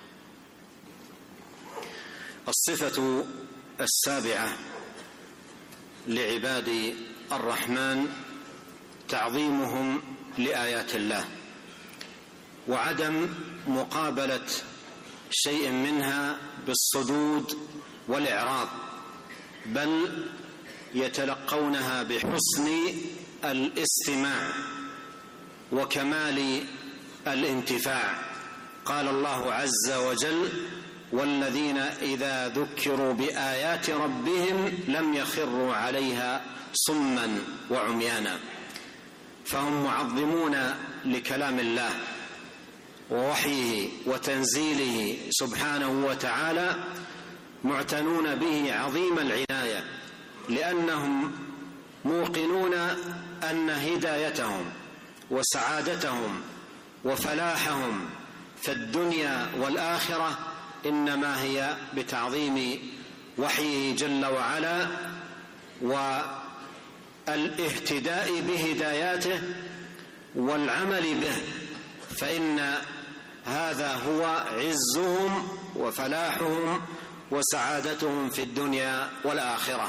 الصفة السابعة لعباد الرحمن تعظيمهم لآيات الله وعدم مقابلة شيء منها بالصدود والإعراض، بل يتلقونها بحسن الاستماع وكمال الانتفاع. قال الله عز وجل: والذين إذا ذكروا بآيات ربهم لم يخروا عليها صما وعميانا. فهم معظمون لكلام الله ووحيه وتنزيله سبحانه وتعالى، معتنون به عظيم العناية، لأنهم موقنون أن هدايتهم وسعادتهم وفلاحهم في الدنيا والآخرة إنما هي بتعظيم وحيه جل وعلا والاهتداء بهداياته والعمل به، فإن هذا هو عزهم وفلاحهم وسعادتهم في الدنيا والآخرة.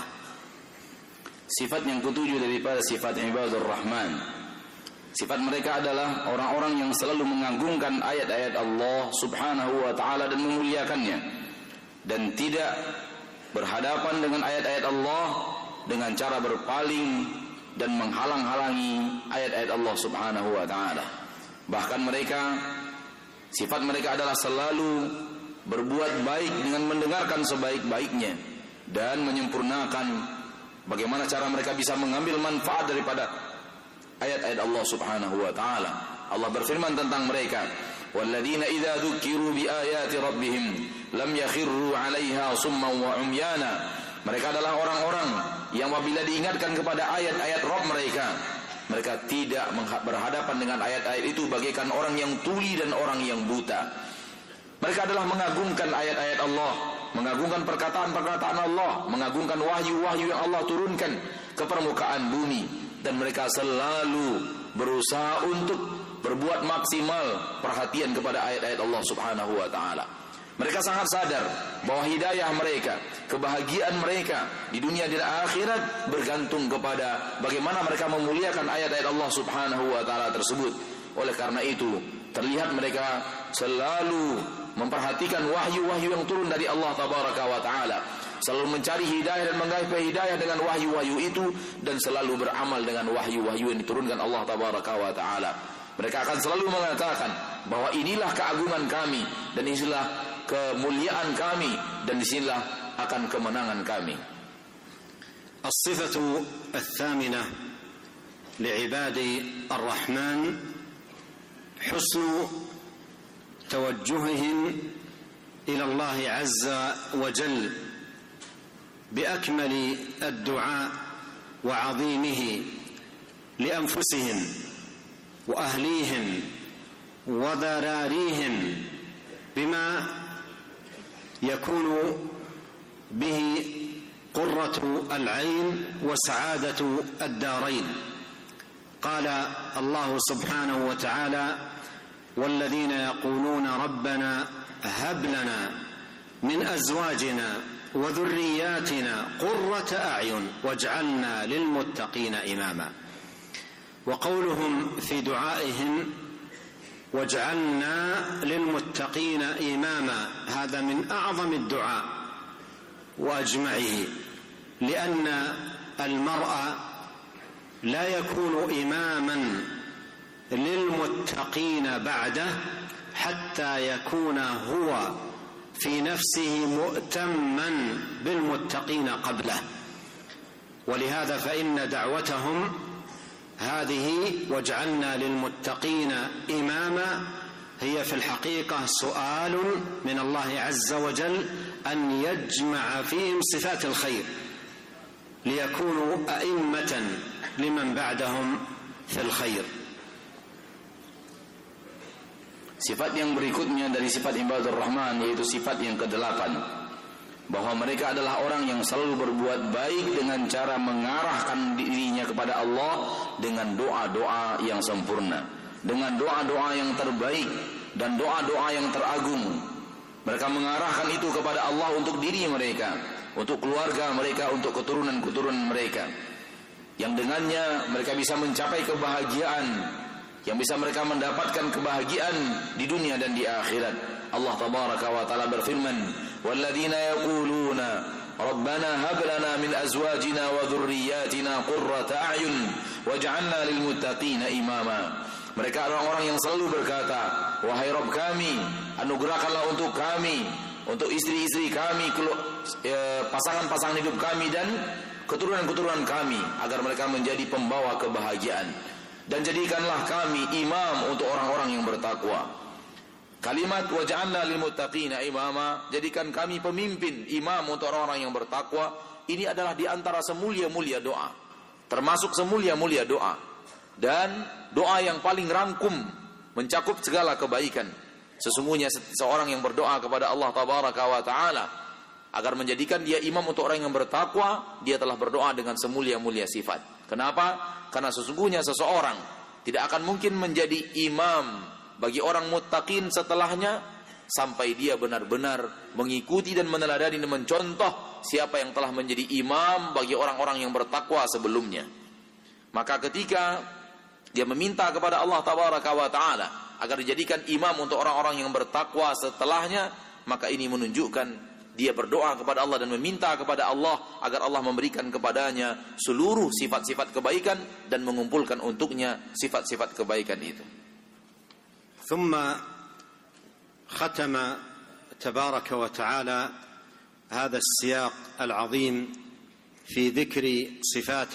Sifat yang ketujuh daripada sifat ibadur rahman, sifat mereka adalah orang-orang yang selalu mengagungkan ayat-ayat Allah subhanahu wa ta'ala dan memuliakannya, dan tidak berhadapan dengan ayat-ayat Allah dengan cara berpaling dan menghalang-halangi ayat-ayat Allah subhanahu wa ta'ala. Bahkan mereka, sifat mereka adalah selalu berbuat baik dengan mendengarkan sebaik-baiknya dan menyempurnakan bagaimana cara mereka bisa mengambil manfaat daripada ayat-ayat Allah subhanahu wa ta'ala. Allah berfirman tentang mereka: walladzina idza dzukiru biayati rabbihim lam yakhirru 'alaiha summan wa umyana. Mereka adalah orang-orang yang apabila diingatkan kepada ayat-ayat Rabb mereka, mereka tidak berhadapan dengan ayat-ayat itu bagaikan orang yang tuli dan orang yang buta. Mereka adalah mengagungkan ayat-ayat Allah, mengagungkan perkataan-perkataan Allah, mengagungkan wahyu-wahyu yang Allah turunkan ke permukaan bumi, dan mereka selalu berusaha untuk berbuat maksimal perhatian kepada ayat-ayat Allah subhanahu wa ta'ala. Mereka sangat sadar bahwa hidayah mereka, kebahagiaan mereka di dunia dan akhirat bergantung kepada bagaimana mereka memuliakan ayat-ayat Allah subhanahu wa ta'ala tersebut. Oleh karena itu, terlihat mereka selalu memperhatikan wahyu-wahyu yang turun dari Allah tabaraka wa ta'ala, selalu mencari hidayah dan menggapai hidayah dengan wahyu-wahyu itu, dan selalu beramal dengan wahyu-wahyu yang diturunkan Allah tabaraka wa ta'ala. Mereka akan selalu mengatakan bahwa inilah keagungan kami, dan inilah kemuliaan kami, dan disinilah akan kemenangan kami. As-sifatu ats-tsaminah li'ibadi ar-Rahman husnu توجههم إلى الله عز وجل بأكمل الدعاء وعظيمه لأنفسهم وأهليهم وذراريهم بما يكون به قرة العين وسعادة الدارين. قال الله سبحانه وتعالى: والذين يقولون ربنا هب لنا من أزواجنا وذرياتنا قرة أعين واجعلنا للمتقين إماما. وقولهم في دعائهم واجعلنا للمتقين إماما هذا من أعظم الدعاء وأجمعه، لأن المرء لا يكون إماما للمتقين بعده حتى يكون هو في نفسه مؤتما بالمتقين قبله، ولهذا فإن دعوتهم هذه واجعلنا للمتقين إماما هي في الحقيقة سؤال من الله عز وجل أن يجمع فيهم صفات الخير ليكونوا أئمة لمن بعدهم في الخير. Sifat yang berikutnya dari sifat ibadur rahman yaitu sifat yang kedelapan, bahwa mereka adalah orang yang selalu berbuat baik dengan cara mengarahkan dirinya kepada Allah dengan doa-doa yang sempurna, dengan doa-doa yang terbaik dan doa-doa yang teragung. Mereka mengarahkan itu kepada Allah untuk diri mereka, untuk keluarga mereka, untuk keturunan-keturunan mereka, yang dengannya mereka bisa mencapai kebahagiaan, yang bisa mereka mendapatkan kebahagiaan di dunia dan di akhirat. Allah tabaraka wa taala berfirman, "Walladzina yaquluna Rabbana hab lana min azwajina wa dhurriyyatina qurrata a'yun waj'alna lil muttaqina imama." Mereka adalah orang yang selalu berkata, "Wahai Rabb kami, anugerahkanlah untuk kami, untuk istri-istri kami, pasangan-pasangan hidup kami dan keturunan-keturunan kami agar mereka menjadi pembawa kebahagiaan. Dan jadikanlah kami imam untuk orang-orang yang bertakwa." Kalimat waj'alna lil muttaqina imama, jadikan kami pemimpin, imam untuk orang-orang yang bertakwa, ini adalah di antara semulia-mulia doa, termasuk semulia-mulia doa, dan doa yang paling rangkum mencakup segala kebaikan. Sesungguhnya seorang yang berdoa kepada Allah tabaraka wa taala agar menjadikan dia imam untuk orang yang bertakwa, dia telah berdoa dengan semulia-mulia sifat. Kenapa? Karena sesungguhnya seseorang tidak akan mungkin menjadi imam bagi orang muttaqin setelahnya sampai dia benar-benar mengikuti dan meneladani dan mencontoh siapa yang telah menjadi imam bagi orang-orang yang bertakwa sebelumnya. Maka ketika dia meminta kepada Allah tabaraka wa taala agar dijadikan imam untuk orang-orang yang bertakwa setelahnya, maka ini menunjukkan dia berdoa kepada Allah dan meminta kepada Allah agar Allah memberikan kepadanya seluruh sifat-sifat kebaikan dan mengumpulkan untuknya sifat-sifat kebaikan itu. ثم ختم تبارك وتعالى هذا السياق العظيم في ذكر صفات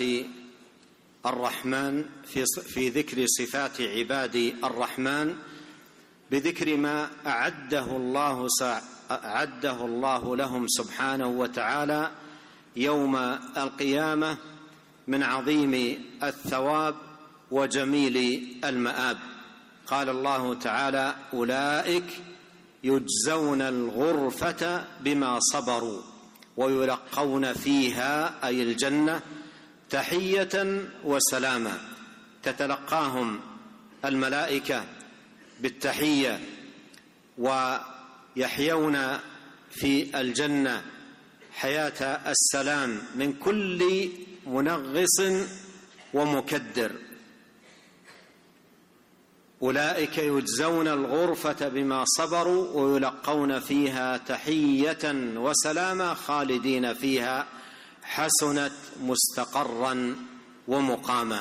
الرحمن في في ذكر صفات عباد الرحمن بذكر ما أعده الله أعده الله لهم سبحانه وتعالى يوم القيامة من عظيم الثواب وجميل المآب. قال الله تعالى: أولئك يجزون الغرفة بما صبروا ويلقون فيها أي الجنة تحية وسلاما. تتلقاهم الملائكة بالتحية ويحيون في الجنة حياة السلام من كل منغص ومكدر. أولئك يجزون الغرفة بما صبروا ويلقون فيها تحية وسلاما خالدين فيها حسنت مستقرا ومقاما.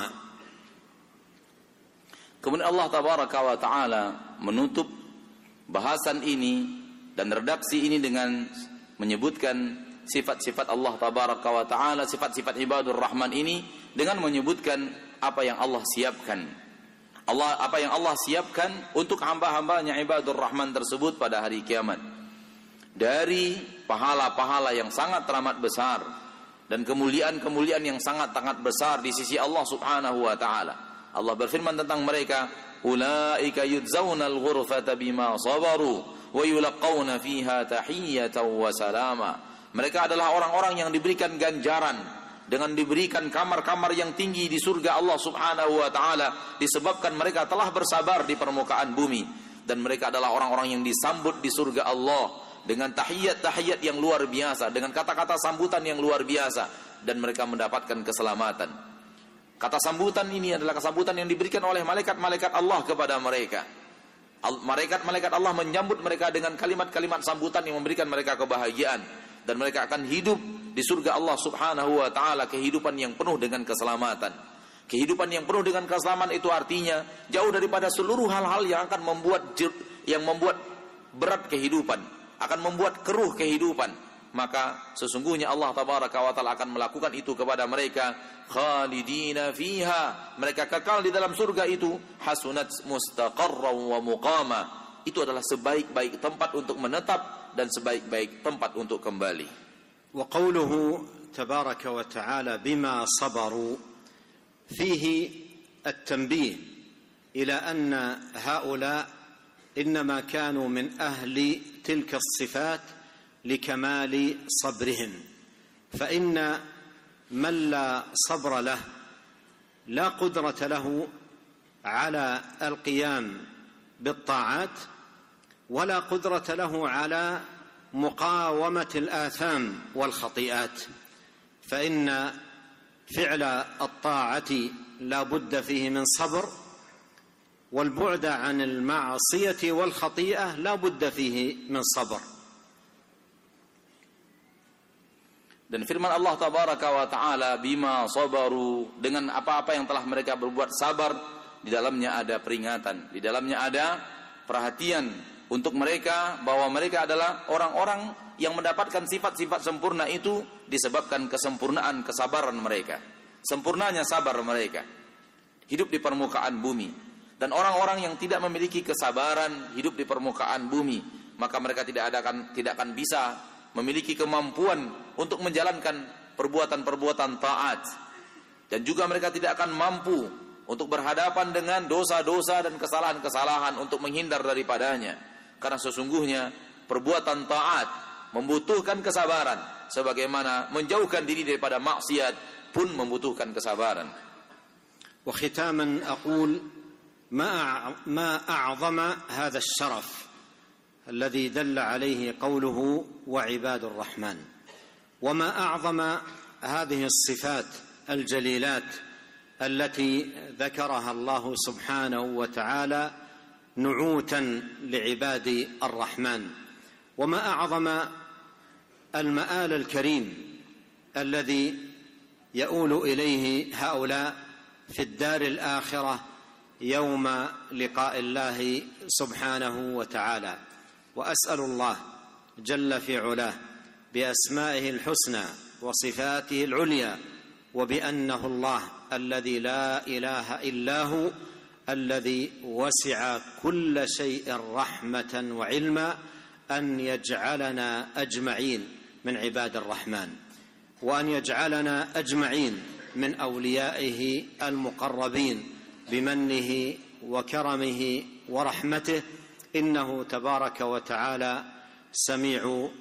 Kemudian Allah tabaraka wa taala menutup bahasan ini dan redaksi ini dengan menyebutkan sifat-sifat Allah tabaraka wa taala, sifat-sifat ibadur rahman ini dengan menyebutkan apa yang Allah siapkan. Allah apa yang Allah siapkan untuk hamba-hambanya ibadur rahman tersebut pada hari kiamat, dari pahala-pahala yang sangat teramat besar dan kemuliaan-kemuliaan yang sangat-sangat besar di sisi Allah Subhanahu wa taala. Allah berfirman tentang mereka, "Ulaika yujzaunal ghurfata bima sabaru wa yulqauna fiha tahiyyatan wa salama." Mereka adalah orang-orang yang diberikan ganjaran dengan diberikan kamar-kamar yang tinggi di surga Allah Subhanahu wa taala disebabkan mereka telah bersabar di permukaan bumi, dan mereka adalah orang-orang yang disambut di surga Allah dengan tahiyat-tahiyat yang luar biasa, dengan kata-kata sambutan yang luar biasa, dan mereka mendapatkan keselamatan. Kata sambutan ini adalah kesambutan yang diberikan oleh malaikat-malaikat Allah kepada mereka. Malaikat-malaikat Allah menyambut mereka dengan kalimat-kalimat sambutan yang memberikan mereka kebahagiaan, dan mereka akan hidup di surga Allah Subhanahu wa taala kehidupan yang penuh dengan keselamatan. Kehidupan yang penuh dengan keselamatan itu artinya jauh daripada seluruh hal-hal yang akan membuat yang membuat berat kehidupan, akan membuat keruh kehidupan, maka sesungguhnya Allah tabaraka wa taala akan melakukan itu kepada mereka. Khalidina fiha, mereka kekal di dalam surga itu. Hasunat mustaqarran wa muqama, itu adalah sebaik-baik tempat untuk menetap dan sebaik-baik tempat untuk kembali. Wa qawluhu tabaraka wa ta'ala bima sabaru fihi at-tanbih ila anna haula إنما كانوا من أهل تلك الصفات لكمال صبرهم، فإن من لا صبر له لا قدرة له على القيام بالطاعات ولا قدرة له على مقاومة الآثام والخطيئات، فإن فعل الطاعة لا بد فيه من صبر، والبعد عن المعصية والخطيئة لا بد فيه من صبر. Dan firman Allah tabaraka wa taala bima sabaru, dengan apa-apa yang telah mereka berbuat sabar, di dalamnya ada peringatan, di dalamnya ada perhatian untuk mereka bahwa mereka adalah orang-orang yang mendapatkan sifat-sifat sempurna itu disebabkan kesempurnaan kesabaran mereka, sempurnanya sabar mereka hidup di permukaan bumi. Dan orang-orang yang tidak memiliki kesabaran hidup di permukaan bumi, maka mereka tidak ada akan tidak akan bisa memiliki kemampuan untuk menjalankan perbuatan-perbuatan taat, dan juga mereka tidak akan mampu untuk berhadapan dengan dosa-dosa dan kesalahan-kesalahan untuk menghindar daripadanya, karena sesungguhnya perbuatan taat membutuhkan kesabaran, sebagaimana menjauhkan diri daripada maksiat pun membutuhkan kesabaran. Wa khitaman aqul ما ما أعظم هذا الشرف الذي دل عليه قوله وعباد الرحمن، وما أعظم هذه الصفات الجليلات التي ذكرها الله سبحانه وتعالى نعوتا لعباد الرحمن، وما أعظم المآل الكريم الذي يؤول إليه هؤلاء في الدار الآخرة يوم لقاء الله سبحانه وتعالى. وأسأل الله جل في علاه بأسمائه الحسنى وصفاته العليا وبأنه الله الذي لا إله إلا هو الذي وسع كل شيء رحمة وعلما أن يجعلنا أجمعين من عباد الرحمن، وأن يجعلنا أجمعين من أوليائه المقربين بمنه وكرمه ورحمته، إنه تبارك وتعالى سميع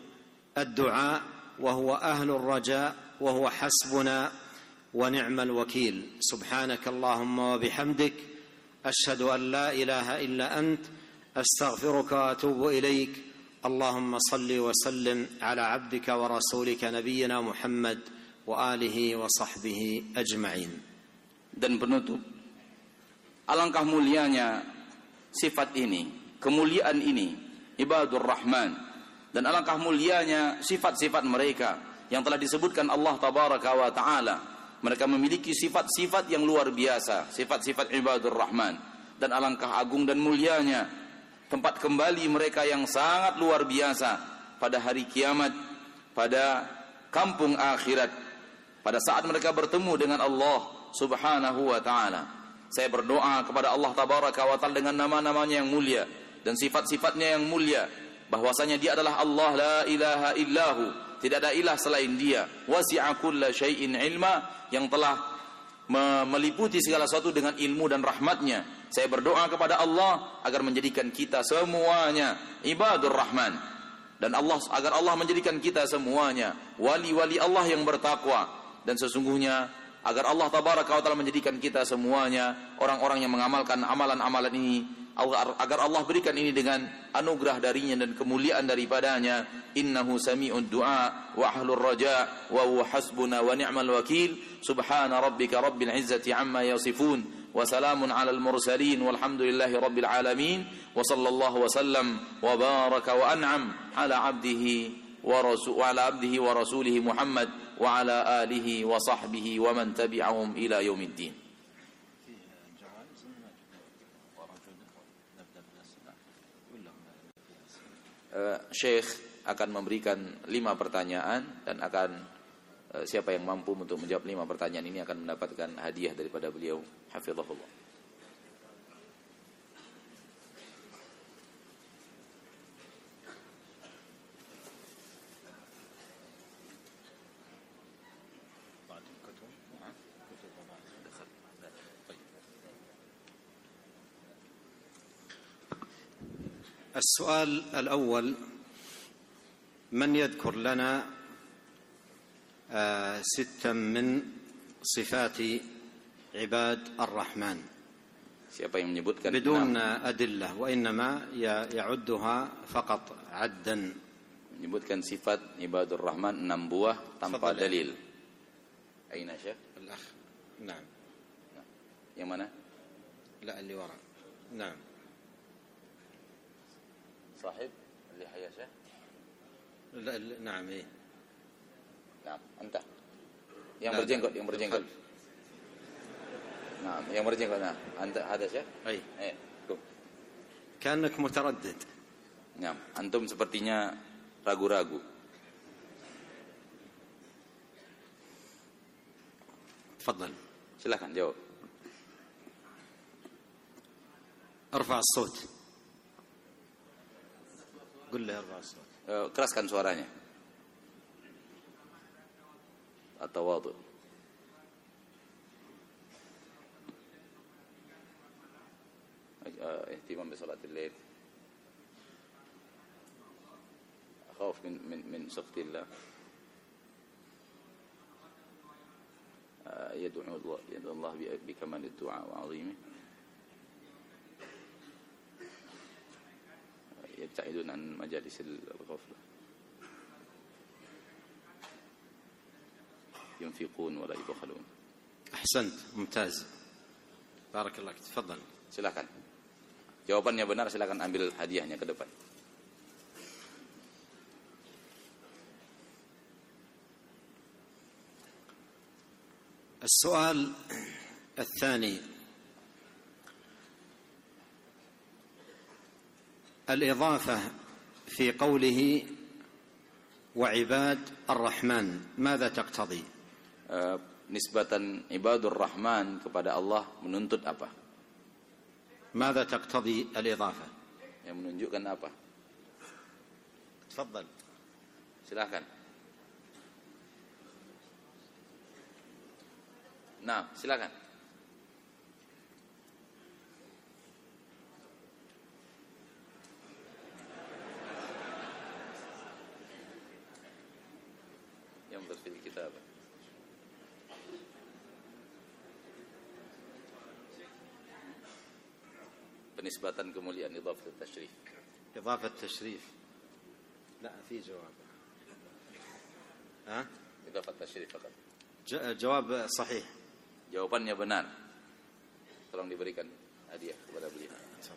الدعاء وهو أهل الرجاء وهو حسبنا ونعم الوكيل. سبحانك اللهم وبحمدك أشهد أن لا إله إلا أنت أستغفرك وأتوب إليك. اللهم صل وسلم على عبدك ورسولك نبينا محمد وآله وصحبه أجمعين. Dan penutup, alangkah mulianya sifat ini, kemuliaan ini, ibadur rahman, dan alangkah mulianya sifat-sifat mereka yang telah disebutkan Allah tabaraka wa ta'ala. Mereka memiliki sifat-sifat yang luar biasa, sifat-sifat ibadur rahman, dan alangkah agung dan mulianya tempat kembali mereka yang sangat luar biasa pada hari kiamat, pada kampung akhirat, pada saat mereka bertemu dengan Allah subhanahu wa ta'ala. Saya berdoa kepada Allah tabaraka wa ta'ala dengan nama-namanya yang mulia dan sifat-sifatnya yang mulia, bahwasanya Dia adalah Allah, la ilaha illahu, tidak ada ilah selain Dia, wasi'a kulla syai'in ilma, yang telah meliputi segala sesuatu dengan ilmu dan rahmatnya. Saya berdoa kepada Allah agar menjadikan kita semuanya ibadur rahman, dan Allah agar Allah menjadikan kita semuanya wali-wali Allah yang bertakwa, dan sesungguhnya agar Allah tabaraka wa ta'ala menjadikan kita semuanya orang-orang yang mengamalkan amalan-amalan ini, agar Allah berikan ini dengan anugerah darinya dan kemuliaan daripadanya. Innahu sami'ud du'a wa ahlur raja wa huwa hasbuna wa ni'mal wakil. Subhana rabbika rabbil izzati amma yasifun wa salamun alal mursalin walhamdulillahi rabbil alamin. Wa sallallahu wa sallam wa baraka wa an'am ala abdihi wa rasul wa ala abdihi wa rasulihi Muhammad wa ala alihi wa sahbihi wa man tabi'ahum ila yaumiddin. uh, Syekh akan memberikan lima pertanyaan dan akan uh, siapa yang mampu untuk menjawab lima pertanyaan ini akan mendapatkan hadiah daripada beliau, hafizahullah. السؤال الأول: من يذكر لنا ستا من صفات عباد الرحمن Siapa yang menyebutkan بدون أدلة وإنما يعدها فقط عدا. Menyebutkan sifat ibadur rahman enam buah tanpa dalil. Aina Syekh? الأخ. نعم. Yang mana? لا اللي وراء. نعم. صاحب اللي حيا شيخ؟ لا نعم إيه. نعم أنت. Yang berjenggot, yang berjenggot. Nah, yang berjenggot. Nah, anta ada Syekh? أي. Eh, tuh. كأنك متردد. Nah, antum sepertinya ragu-ragu. تفضل. Silakan jawab. ارفع الصوت. قل له ارفع الصوت. Uh, keraskan suaranya. At-tawadhu. اهتمام بصلاة الليل. أخاف من من من سخط الله. يدعو الله يدعو الله بكمال الدعاء وعظيمه. يبتعدون عن مجالس الغفلة. ينفقون ولا يبخلون. أحسنت، ممتاز. بارك الله فيك. تفضل. Silakan. Jawabannya benar, silakan ambil hadiahnya ke depan. السؤال الثاني: الإضافة في قوله وعباد الرحمن ماذا تقتضي؟ Uh, nisbatan ibadur rahman kepada Allah menuntut apa? ماذا تقتضي الإضافة؟ Yang menunjukkan apa? تفضل. Silakan. Nah, silakan. Yang berfil kitab. Penisbatan kemuliaan idhafat tasyrif. إضافة تشريف. لا في جواب. ها؟ Idhafat tasyrif fakat. جواب صحيح. Jawabannya benar. Tolong diberikan hadiah kepada beliau.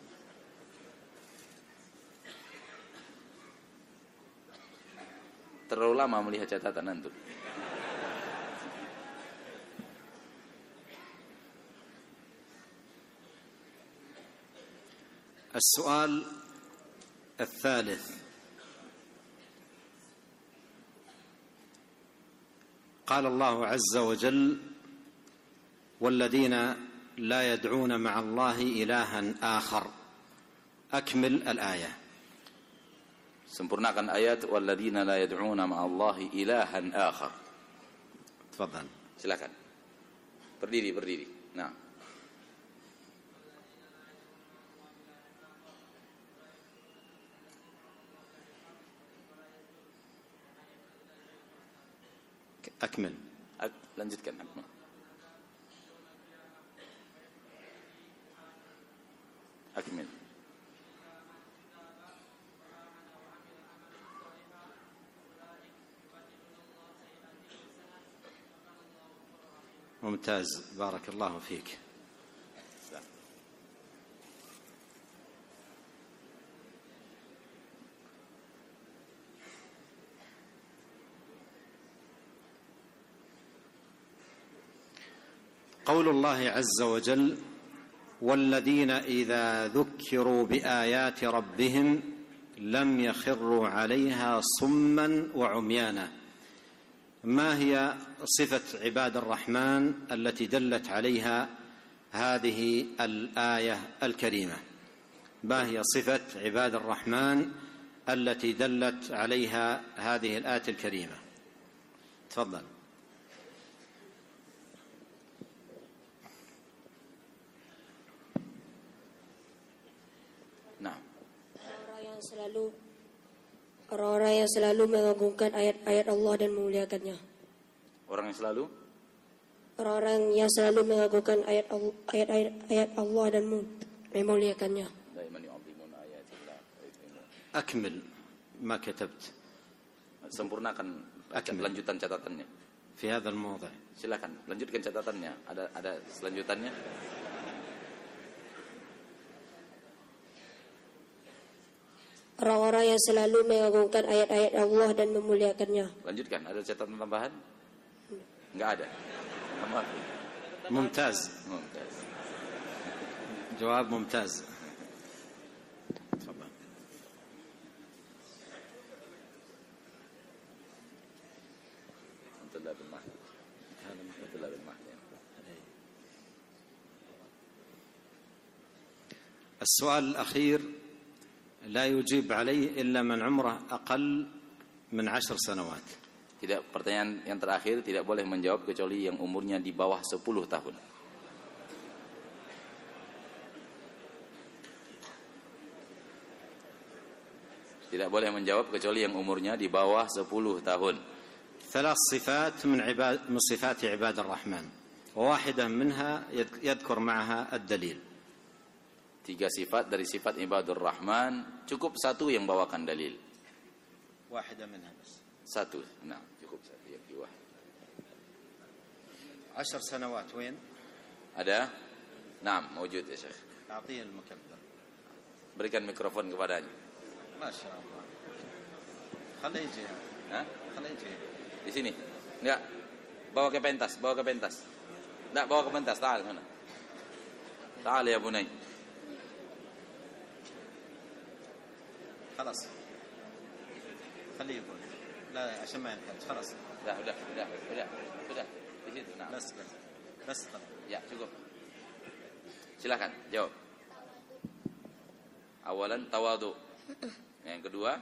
Terlalu lama melihat catatan antum. السؤال الثالث: قال الله عز وجل: والذين لا يدعون مع الله إلها آخر. أكمل الآية. Sempurnakan ayat walladzina la yad'una ma'allahi ilahan akhar. تفضل. Silakan. Berdiri, berdiri. Nah. أكمل. Lanjutkan. Akmal. Akmil. ممتاز، بارك الله فيك. قول الله عز وجل: والذين إذا ذكروا بآيات ربهم لم يخروا عليها صما وعميانا. ما هي صفة عباد الرحمن التي دلت عليها هذه الآية الكريمة؟ ما هي صفة عباد الرحمن التي دلت عليها هذه الآية الكريمة؟ تفضل. Nah. Orang yang selalu orang-orang yang selalu mengagungkan ayat-ayat Allah dan memuliakannya. Orang yang selalu Orang-orang yang selalu mengagungkan ayat-ayat ayat Allah dan memuliakannya. أكمل ما كتبت. Sempurnakan Akmil. Lanjutan catatannya. في هذا الموضع. Silakan lanjutkan catatannya. Ada ada selanjutannya. Orang-orang yang selalu mengagungkan ayat-ayat Allah dan memuliakannya. Lanjutkan. Ada catatan tambahan? Enggak ada. Tambah. ممتاز. ممتاز. جواب ممتاز. السؤال الأخير لا يجيب عليه إلا من عمره أقل من عشر سنوات. Tidak, pertanyaan yang terakhir tidak boleh menjawab kecuali yang umurnya di bawah sepuluh tahun. Tidak boleh menjawab kecuali yang umurnya di bawah sepuluh tahun. ثلاث صفات من عباد من صفات عباد الرحمن وواحدة منها يذكر معها الدليل. Tiga sifat dari sifat ibadur rahman, cukup satu yang bawakan dalil. واحدة منها بس. Satu, nah cukup satu yang dua. عشر سنوات وين؟ Ada? Naam, mewujud ya Syekh. أعطيه المكبر. Berikan mikrofon kepadanya. ما شاء الله. خليه يجي. Hah? خليه يجي. Di sini. Enggak. Bawa ke pentas, bawa ke pentas. Enggak, bawa ke pentas. Ta'al sana. Ta'al ya bunay. خلاص. خليه يقول. لا عشان ما ينكرش. خلاص. Udah, udah, udah, udah, udah. Di situ. Nah. بس بس. بس خلاص. Ya, cukup. Silakan, jawab. Awalan tawadu. Yang kedua,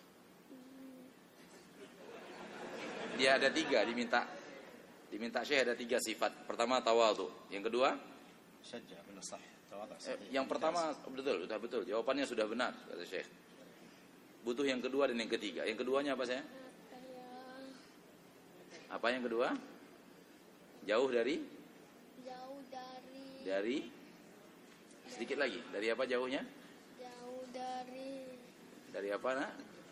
dia ada tiga diminta. Diminta Syekh ada tiga sifat. Pertama tawadu. Yang kedua, شجع بالصح. تواضع eh, صحيح. yang pertama betul, sudah betul. Jawabannya sudah benar kata Syekh. Butuh yang kedua dan yang ketiga. Yang keduanya apa saya? Apa yang kedua? Jauh dari? Jauh dari. Dari? Sedikit lagi. Dari apa jauhnya? Jauh dari. Dari apa nak?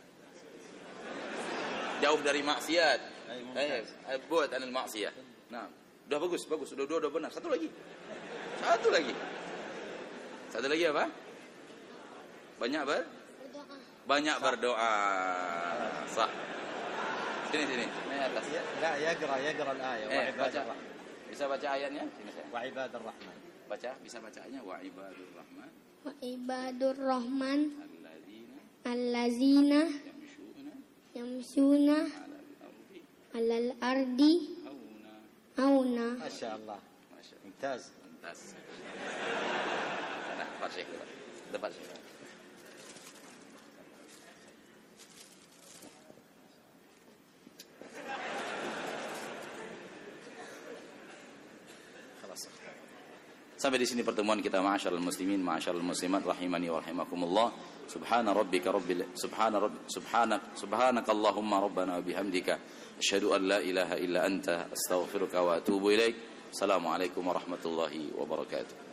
Jauh dari maksiat. Eh, buat anil maksiat. Nah, udah bagus, bagus. Sudah dua, udah benar. Satu lagi. Satu lagi. Satu lagi apa? Banyak ber? Berdoa. Banyak berdoa. Sah. Sini sini. Ini atas. لا يقرأ يقرأ الآية. Eh, وعباد baca. الرحمن. Bisa baca ayatnya? Sini saya. وعباد الرحمن. Baca, bisa baca ayatnya wa ibadur rahman Wa ibadur rahman alladzina allazina yamshuna yamshuna 'alal ardi alal ardi hauna. auna. ما شاء الله. ممتاز. Mumtaz. Nah, Pak Syekh. Depan Syekh. Sampai di sini pertemuan kita, ma'asyiral muslimin, ma'asyiral muslimat, rahimani wa rahimakumullah. Subhana rabbika rabbil subhana rabb subhanak subhanakallahumma rabbana wa bihamdika asyhadu an la ilaha illa anta astaghfiruka wa atubu ilaik. Assalamualaikum warahmatullahi wabarakatuh.